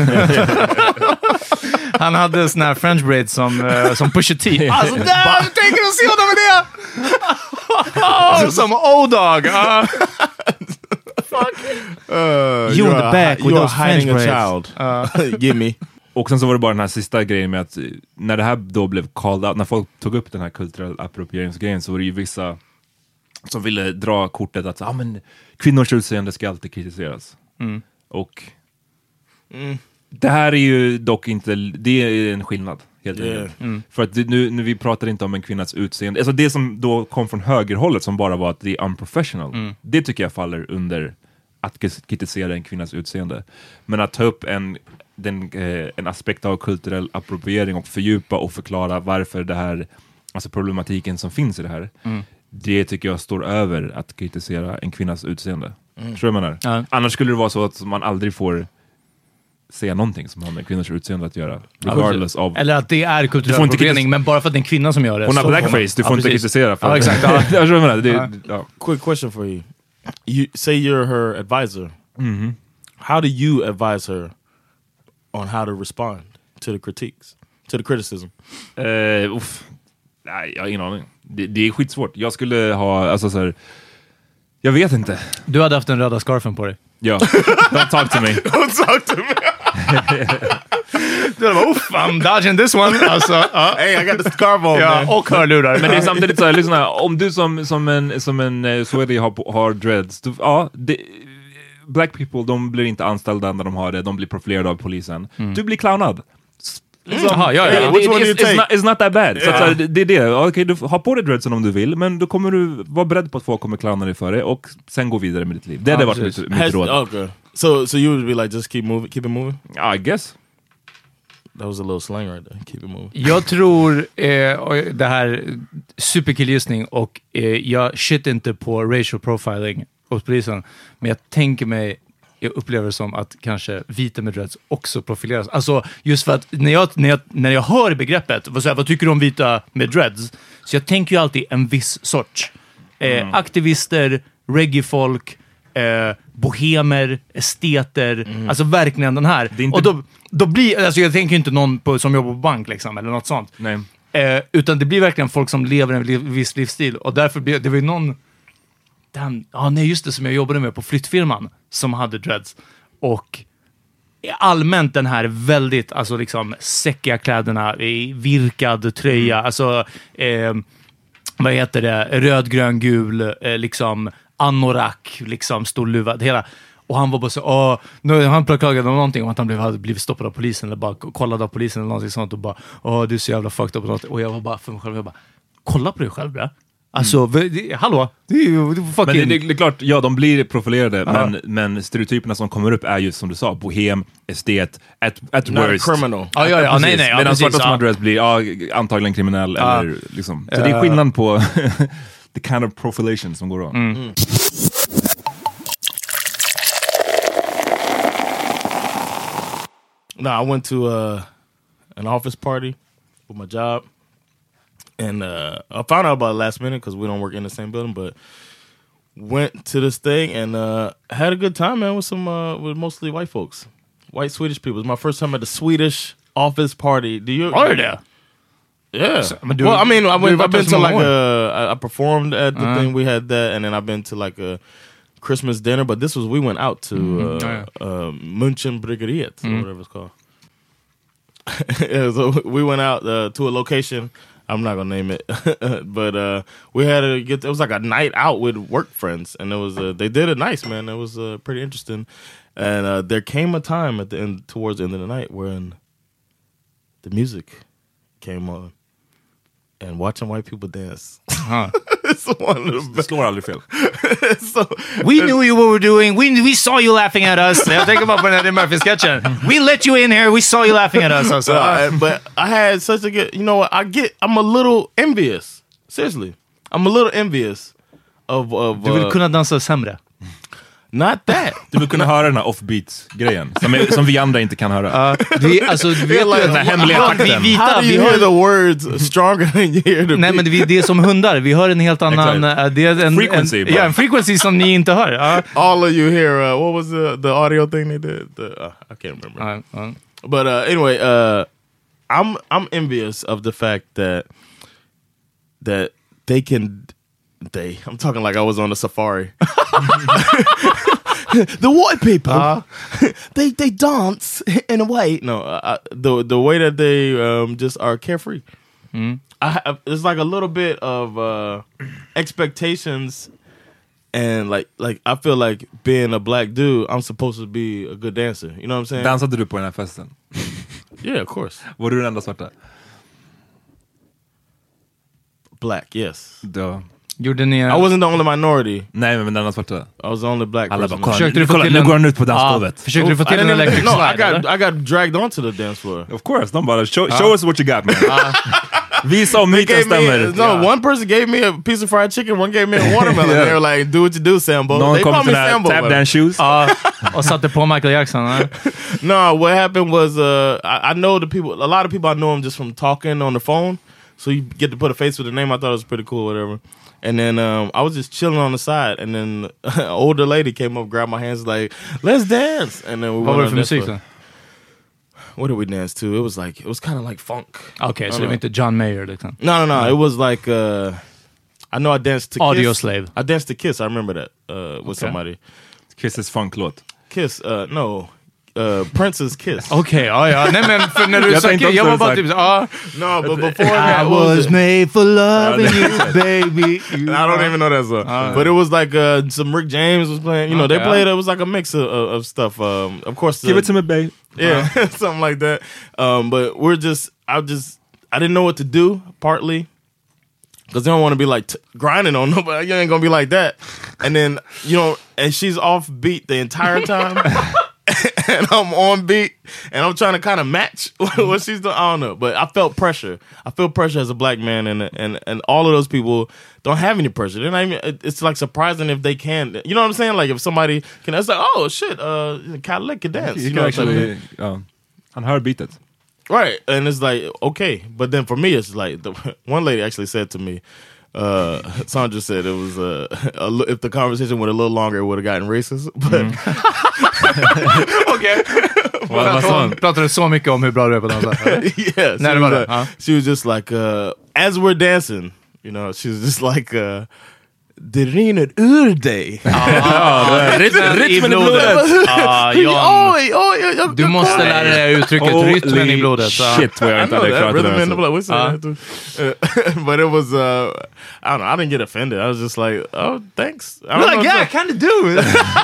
Han hade sån här French braid som Pusha T. Alltså där, tänker du se honom med det? Som O-Dog. You in the back with those French braids. Give me. Och sen så var det bara den här sista grejen med att när det här då blev called out, när folk tog upp den här kulturell approprieringsgrejen, så var det ju vissa som ville dra kortet att men kvinnors utseende ska alltid kritiseras. Och det här är ju dock inte, det är en skillnad helt enkelt. För att nu vi pratar inte om en kvinnas utseende, alltså det som då kom från högerhållet som bara var att det är unprofessional, det tycker jag faller under att kritisera en kvinnas utseende. Men att ta upp en aspekt av kulturell appropriering och fördjupa och förklara varför det här, alltså problematiken som finns i det här, det tycker jag står över att kritisera en kvinnas utseende. Tror jag menar. Annars skulle det vara så att man aldrig får säga någonting som har med kvinnors utseende att göra. Regardless of... Eller att det är kulturell appropriering, men bara för att det är en kvinna som gör det. Hon har blackface, du får inte kritisera för exakt. Jag menar, Quick question for you. You say you're her advisor. How do you advise her on how to respond to the critiques, to the criticism? Nej, jag har ingen aning. Det är skitsvårt. Jag skulle ha, alltså så här, jag vet inte. Du hade haft den röda scarfen på dig. Ja, don't talk to me. Don't talk to me. Du hade bara, I'm dodging this one. Alltså, hey, I got the scarf on. Ja, och hörlurar. Men det är samtidigt så här, lyssna, om du som en Swedish har dreads, black people, de blir inte anställda när de har det, de blir profilerade av polisen. Du blir clownad. It's not that bad. Så att, det är det. Okej, du har på dig dreadsen om du vill, men då kommer du vara beredd på att folk kommer clowna dig för det och sen gå vidare med ditt liv. Det hade varit mitt råd. Okay. So you would be like, just keep it moving? I guess. That was a little slang right there. Keep it moving. Jag tror det här superkillgissning och jag shit inte på racial profiling hos polisen, men jag tänker mig, jag upplever det som att kanske vita med dreads också profileras. Alltså just för att när jag hör begreppet, vad tycker du om vita med dreads? Så jag tänker ju alltid en viss sorts aktivister, reggae-folk, bohemer, esteter, alltså verkligen den här. Inte... Och då blir, alltså jag tänker ju inte någon som jobbar på bank liksom, eller något sånt. Nej. Utan det blir verkligen folk som lever en viss livsstil. Och därför blir det var ju någon just det, som jag jobbade med på flyttfirman som hade dreads. Och allmänt den här väldigt, alltså liksom säckiga kläderna, virkad tröja, alltså vad heter det, röd, grön, gul, liksom anorak, liksom stor luva, hela. Och han var bara så, han klagade om någonting om att han hade blivit stoppad av polisen eller bara kollad av polisen eller någonting sånt och bara, du är så jävla fucked up. Och jag var bara för mig själv, kolla på dig själv, bra. Alltså, hallå? Det är fucking... Men det är klart, ja, de blir profilerade, men stereotyperna som kommer upp är ju som du sa, bohem, estet, at worst. Criminal. Medan svarta som adress blir antagligen kriminell eller liksom. Så det är skillnad på the kind of profilation som går on. No, I went to an office party with my job, and I found out about it last minute because we don't work in the same building. But went to this thing and had a good time, man, with with mostly white folks, white Swedish people. It was my first time at the Swedish office party. Do you? Oh, yeah. Yeah. So, Well, I mean, I've been to like I performed at the thing. We had that, and then I've been to like a Christmas dinner. But this was we went out to Münchenbryggeriet or whatever it's called. Yeah, so we went out to a location. I'm not gonna name it, but we had to get. It was like a night out with work friends, and it was they did it nice, man. It was pretty interesting. And there came a time at the end, towards the end of the night, when the music came on, and watching white people dance. It's one of the best. Slår aldrig fel. So, We knew you what we were doing. We saw you laughing at us. Jag tänker bara på den här Murphy-sketchen. We let you in here. We saw you laughing at us. Also. But I had such a good, you know what, I'm a little envious. Seriously. I'm a little envious of Du vill kunna dansa sämre. Not that. Du vill kunna höra den här offbeat-grejen som vi andra inte kan höra. Du vet den här hemliga takten. How do you hear the words stronger than you hear the Nej, men det är som hundar. Vi hör en helt annan... det är frequency. En frequency som ni inte hör. All of you hear, what was the audio thing they did? I can't remember. But anyway, I'm envious of the fact that they can... I'm talking like I was on a safari. The white people, they dance in a way. No, the way that they just are carefree. It's like a little bit of expectations, and like I feel like being a black dude, I'm supposed to be a good dancer. You know what I'm saying? Dansade du på den här festen? Yeah, of course. Var du den enda svarta? Black, yes. Ja. Gjorde ni... I wasn't the only minority. Nej, men den enda svarta. I was the only black Alla person. bara, nu går han ut på dansgolvet. Försökte du få till en electric slide? I got dragged onto the dance floor. Of course, de bara, show us what you got, man. Visa om myten stämmer. One person gave me a piece of fried chicken, one gave me a watermelon. They were like, do what you do, Sambo. Någon They kom called till me den Sambo. här tap dance shoes. Och satte på Michael Jackson. No, what happened was I know the people, a lot of people I know them just from talking on the phone. So you get to put a face with the name. I thought it was pretty cool, whatever. And then I was just chilling on the side, and then an older lady came up, grabbed my hands, like, "Let's dance!" And then we went on dance floor. What did we dance to? It was kind of like funk. Okay, so det var inte John Mayer liksom. No. It was like I know I danced to Audio Kiss. Slave. I danced to Kiss. I remember that with somebody. Kiss's funk-låt. Kiss. No. Prince's Kiss. Okej, ja. Nej, men för när du sa Kiss, jag var bara typ no, but before that, I was made for loving you, baby. I don't even know that song. But it was like some Rick James was playing. You know, they played. It was like a mix of stuff. Of course, Give it to me, babe. Yeah, something like that. But I didn't know what to do. Partly because they don't want to be like grinding on nobody. You ain't gonna be like that. And then and she's off beat the entire time. And I'm on beat, and I'm trying to kind of match what she's doing. I don't know, but I felt pressure. I feel pressure as a black man, and all of those people don't have any pressure. They're not even. It's like surprising if they can. You know what I'm saying? Like if somebody can, it's like, oh shit, Cadillac can dance. You can actually, han hör beatet. Right, and it's like okay, but then for me, it's like one lady actually said to me. Sandra said it was if the conversation went a little longer, it would have gotten racist. But okay. Pratade så mycket om hur bra du är på dansa. Yeah, Nej, det var det. She was just like as we're dancing, she was just like det rinner ur dig. Rytmen i blodet. Du måste lära dig uttrycket rytmen i blodet. Shit, vad jag inte hade klarat det. But it was, I don't know, I didn't get offended. I was just like, oh, thanks. I kind of do.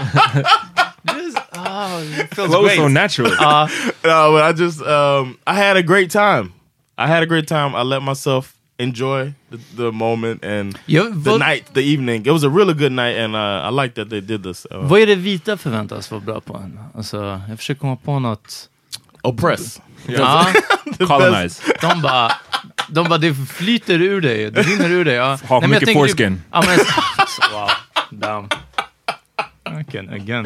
It feels Flow great. so natural. No, but I just, I had a great time. I let myself enjoy the moment and the night, the evening. It was a really good night, and I like that they did this. Vad är det vita förväntas vara bra på? Alltså, jag försöker komma på något. Oppress. Ja. Colonize. De bara, De bara, det flyter ur dig. Det rinner ur dig. Ja. Har mycket foreskin. Typ, ja, men, wow. Damn. Again.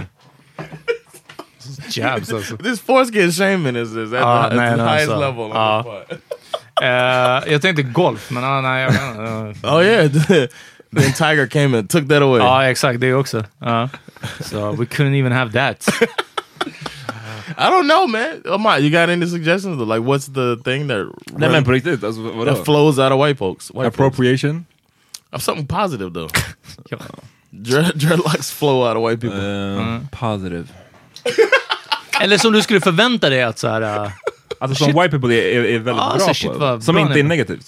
Jabs alltså. This foreskin shaming is at the highest level. Jag tänkte golf, men nej. Jag oh yeah. Then Tiger came and took that away. Ja, exakt. Det också. So we couldn't even have that. I don't know, man. You got any suggestions? Like, what's the thing that men på riktigt, alltså, that flows out of white folks? Appropriation? Of something positive, though. Dreadlocks flow out of white people. Positive. Eller som du skulle förvänta dig att så här... Alltså som white people är väldigt bra på. Som inte är negativt.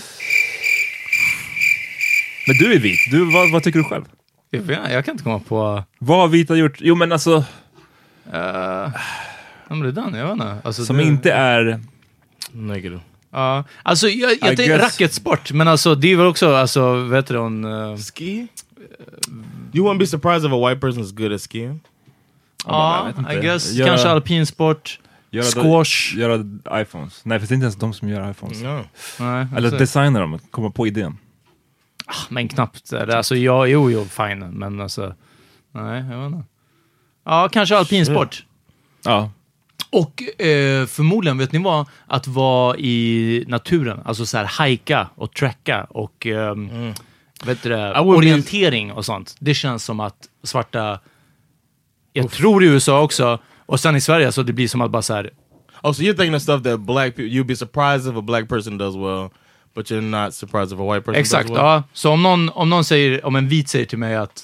Men du är vit. Vad tycker du själv? Jag kan inte komma på... Vad har vita gjort? Jo, men alltså... Men det är den, jag vet inte. Alltså, som inte är... Negative. Ja, alltså jag tänker racketsport, men alltså det är väl också, alltså, vet du hon... Ski? You wouldn't be surprised if a white person is good at skiing? Ja, I guess. Kanske alpinsport, squash. Göra iPhones. Nej, för det är inte ens de som gör iPhones. No. Nej, eller designar dem, komma på idén. Men knappt. Alltså, jo, fine. Men alltså, nej, jag vet inte. Ja, kanske alpinsport. Ja. Och förmodligen, vet ni vad? Att vara i naturen. Alltså så här, hajka och trekka och vet du det, orientering och sånt. Det känns som att svarta... Jag tror i USA också. Och sen i Sverige så det blir som att bara så här... Oh, so you're thinking of stuff that black people... You'd be surprised if a black person does well, but you're not surprised if a white person exakt, does well? Ja. Så om någon säger... Om en vit säger till mig att...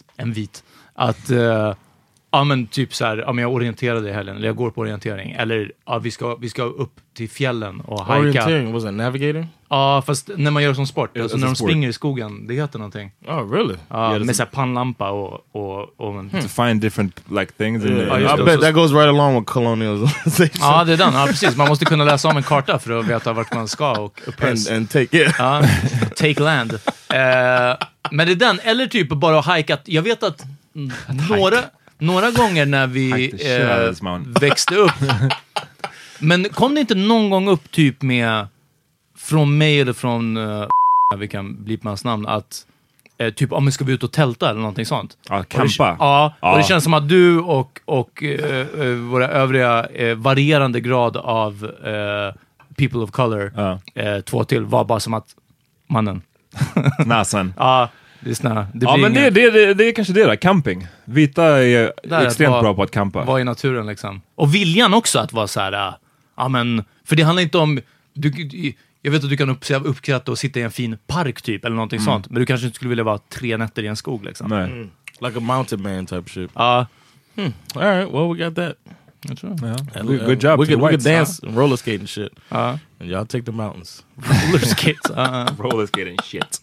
Ja, men typ så här, jag orienterade i helgen, eller jag går på orientering, eller vi ska upp till fjällen och hajka. Orientering, was it navigating? Ja, fast när man gör som sport, alltså när de springer i skogen, det heter någonting. Oh, really? Ja, med så här pannlampa och to find different like things. I bet that goes right along with colonialism. Ja, det är den. Ja, precis. Man måste kunna läsa om en karta för att veta vart man ska och and take it. Ja, take land. Men det är den, eller typ bara hajkat. Jag vet att några gånger när vi växte upp. Men kom det inte någon gång upp typ med från mig eller från vi kan bli på hans namn att typ om vi ska vi ut och tälta eller någonting sånt. Ja, campa. Ja, och det känns som att du och våra övriga varierande grad av people of color, två till, var bara som att mannen. Nasen. Ja. Men det är kanske det där, camping. Vita är extremt bra på att campa. Vara i naturen liksom. Och viljan också att vara så här, men för det handlar inte om jag vet att du kan uppskatta och sitta i en fin park typ eller någonting sånt, men du kanske inte skulle vilja vara 3 nätter i en skog liksom. Nej. Like a mountain man type shit. All right, well we got that. Jag tror. Good job. We could dance and roller skate and shit. And y'all take the mountains. Roller skates. Roller skate and shit.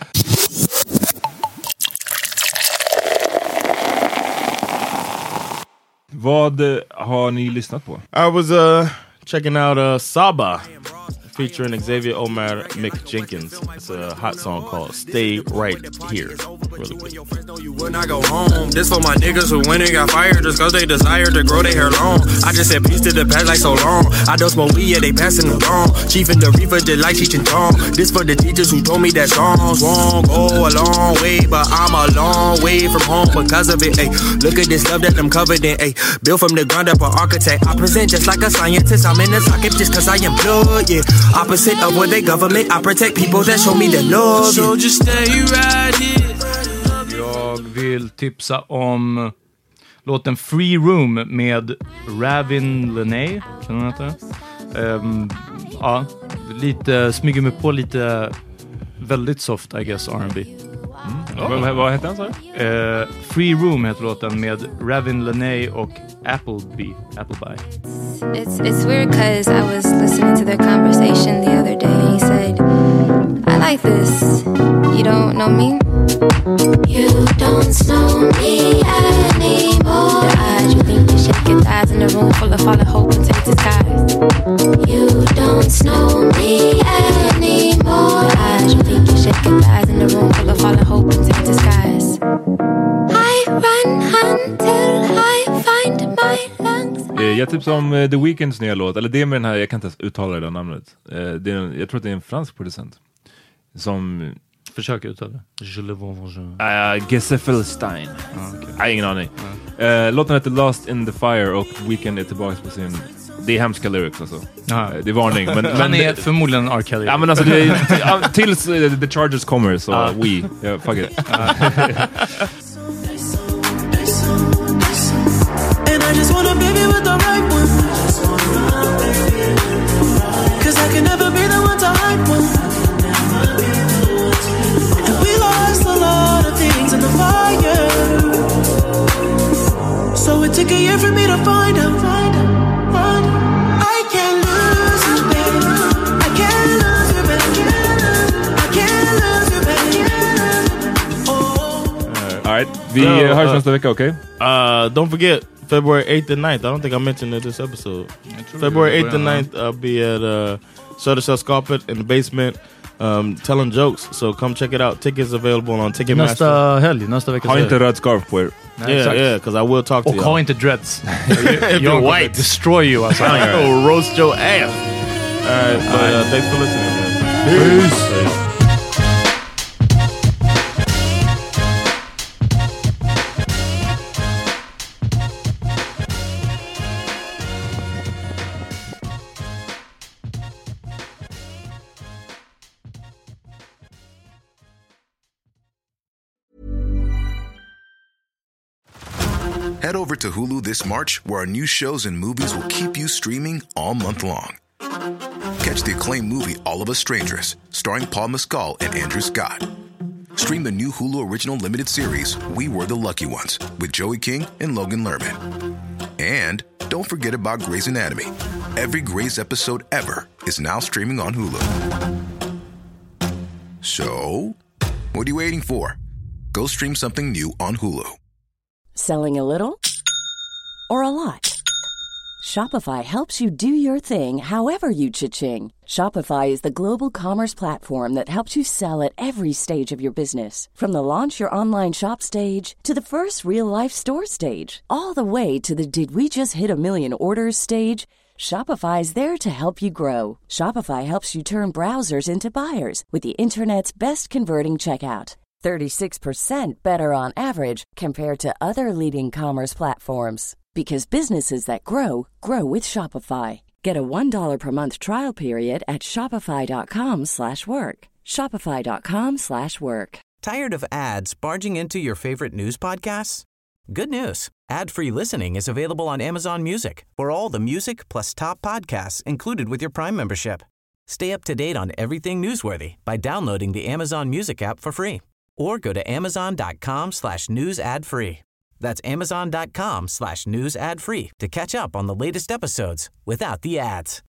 Vad har ni lyssnat på? I was checking out Saba featuring Xavier Omar, Mick Jenkins. It's a hot song called Stay Right Here. Really good. When I go home, this for my niggas who went and got fired just cause they desire to grow their hair long. I just said peace to the past like so long. I don't smoke weed, yeah, they passing them wrong. Chief and the reefer did like Cheech and Chong. This for the teachers who told me that songs won't go a long way, but I'm a long way from home because of it. Ay, look at this love that I'm covered in. Ay, built from the ground up, an architect. I present just like a scientist. I'm in the socket just cause I am blood, yeah. Opposite of what they government. I protect people that show me the love. So just stay right here. Jag vill tipsa om låten Free Room med Ravin Lenae. Kan hon heta? Ja, lite smyger mig på lite väldigt soft, I guess, R&B. Vad heter han så? Free Room heter låten med Ravin Lenae och Appleby. It's weird because I was listening to their conversation the other day and he said, I like this. You don't know me? You don't know me anymore. The eyes you think you shake your thighs in a room full of fallen hope and take disguise. You don't know me anymore. The eyes you think you shake your thighs in a room full of fallen hope and take disguise. I run until I find my lungs. typ som The Weeknds nya låt. Eller det med den här, jag kan inte ens uttala det namnet. Jag tror att det är en fransk producent. Som... Försök uttala det. Geseffelstein. Okay. Ingen aning. Låten heter Lost in the Fire och Weeknd är tillbaka på sin... Det är hemska lyrics alltså. Det är varning. Men han är förmodligen R. Kelly. Ja, men alltså det är, tills The Chargers kommer så fuck it. And I just wanna baby with the right one. 'Cause I can never be the one to hype one. And we lost a lot of things in the fire. So it took a year for me to find out. I can't lose you, baby. I can't lose you, baby. I can't lose you, baby. All right, vi hörs nästa vecka, okay? Don't forget February 8th and 9th. I don't think I mentioned it this episode. February 8th and 9th, I'll be at Södersäll Skapet in the basement, telling jokes. So come check it out. Tickets available on Ticketmaster. Nästa helg, nästa vecka. Ha inte röd scarf på er. Yeah, because I will talk to you. Och ha inte dreads. You're white. Destroy you. Alltså. I will roast your ass. Alright, but thanks for listening, man. Peace. Head over to Hulu this March, where our new shows and movies will keep you streaming all month long. Catch the acclaimed movie All of Us Strangers, starring Paul Mescal and Andrew Scott. Stream the new Hulu original limited series We Were the Lucky Ones with Joey King and Logan Lerman. And don't forget about Grey's Anatomy. Every Grey's episode ever is now streaming on Hulu. So, what are you waiting for? Go stream something new on Hulu. Selling a little or a lot? Shopify helps you do your thing however you cha-ching. Shopify is the global commerce platform that helps you sell at every stage of your business. From the launch your online shop stage to the first real-life store stage, all the way to the did we just hit a million orders stage. Shopify is there to help you grow. Shopify helps you turn browsers into buyers with the internet's best converting checkout. 36% better on average compared to other leading commerce platforms. Because businesses that grow, grow with Shopify. Get a $1 per month trial period at shopify.com/work. Shopify.com/work. Tired of ads barging into your favorite news podcasts? Good news. Ad-free listening is available on Amazon Music for all the music plus top podcasts included with your Prime membership. Stay up to date on everything newsworthy by downloading the Amazon Music app for free. Or go to amazon.com/news ad free. That's amazon.com/news ad free to catch up on the latest episodes without the ads.